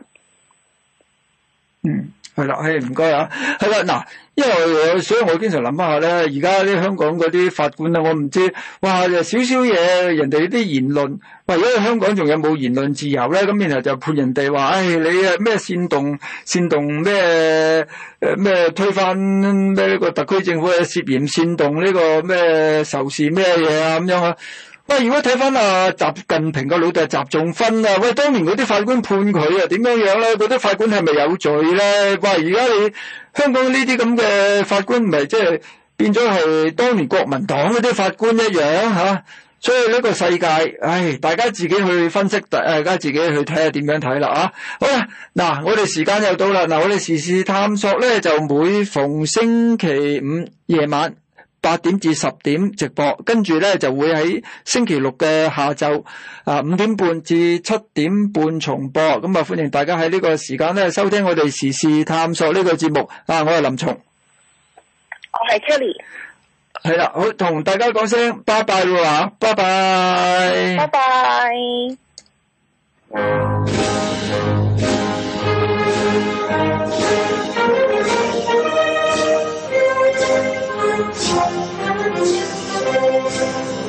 嗯。係啦，係唔該啊，係啦，嗱，因為所以我經常諗翻下咧，而家啲香港嗰啲法官啊，我唔知，哇，少少嘢，人哋啲言論，喂，如果香港仲有冇言論自由咧？咁然後就判人哋話，唉、哎，你啊咩煽動煽動咩誒咩推翻咩呢個特區政府嘅涉嫌煽動呢個咩仇視咩嘢啊咁樣啊？喂，如果睇翻啊習近平個老豆習仲勳啊，喂，當年嗰啲法官判佢啊點樣樣咧？嗰啲法官係咪有罪咧？喂，而家你香港呢啲咁嘅法官，唔係即係變咗係當年國民黨嗰啲法官一樣吓、啊？所以呢個世界，唉，大家自己去分析，大家自己去睇下點樣睇啦啊！好啦，嗱，我哋時間又到啦，嗱，我哋時事探索咧就每逢星期五夜晚八點至十點直播，跟住咧就會喺星期六嘅下晝啊五點半至七點半重播。咁啊，歡迎大家喺呢個時間咧收聽我哋時事探索呢個節目。啊，我係林松， 我係 Kelly。 係啦，好，同大家講聲拜拜啦，拜拜， 拜拜。Thank you.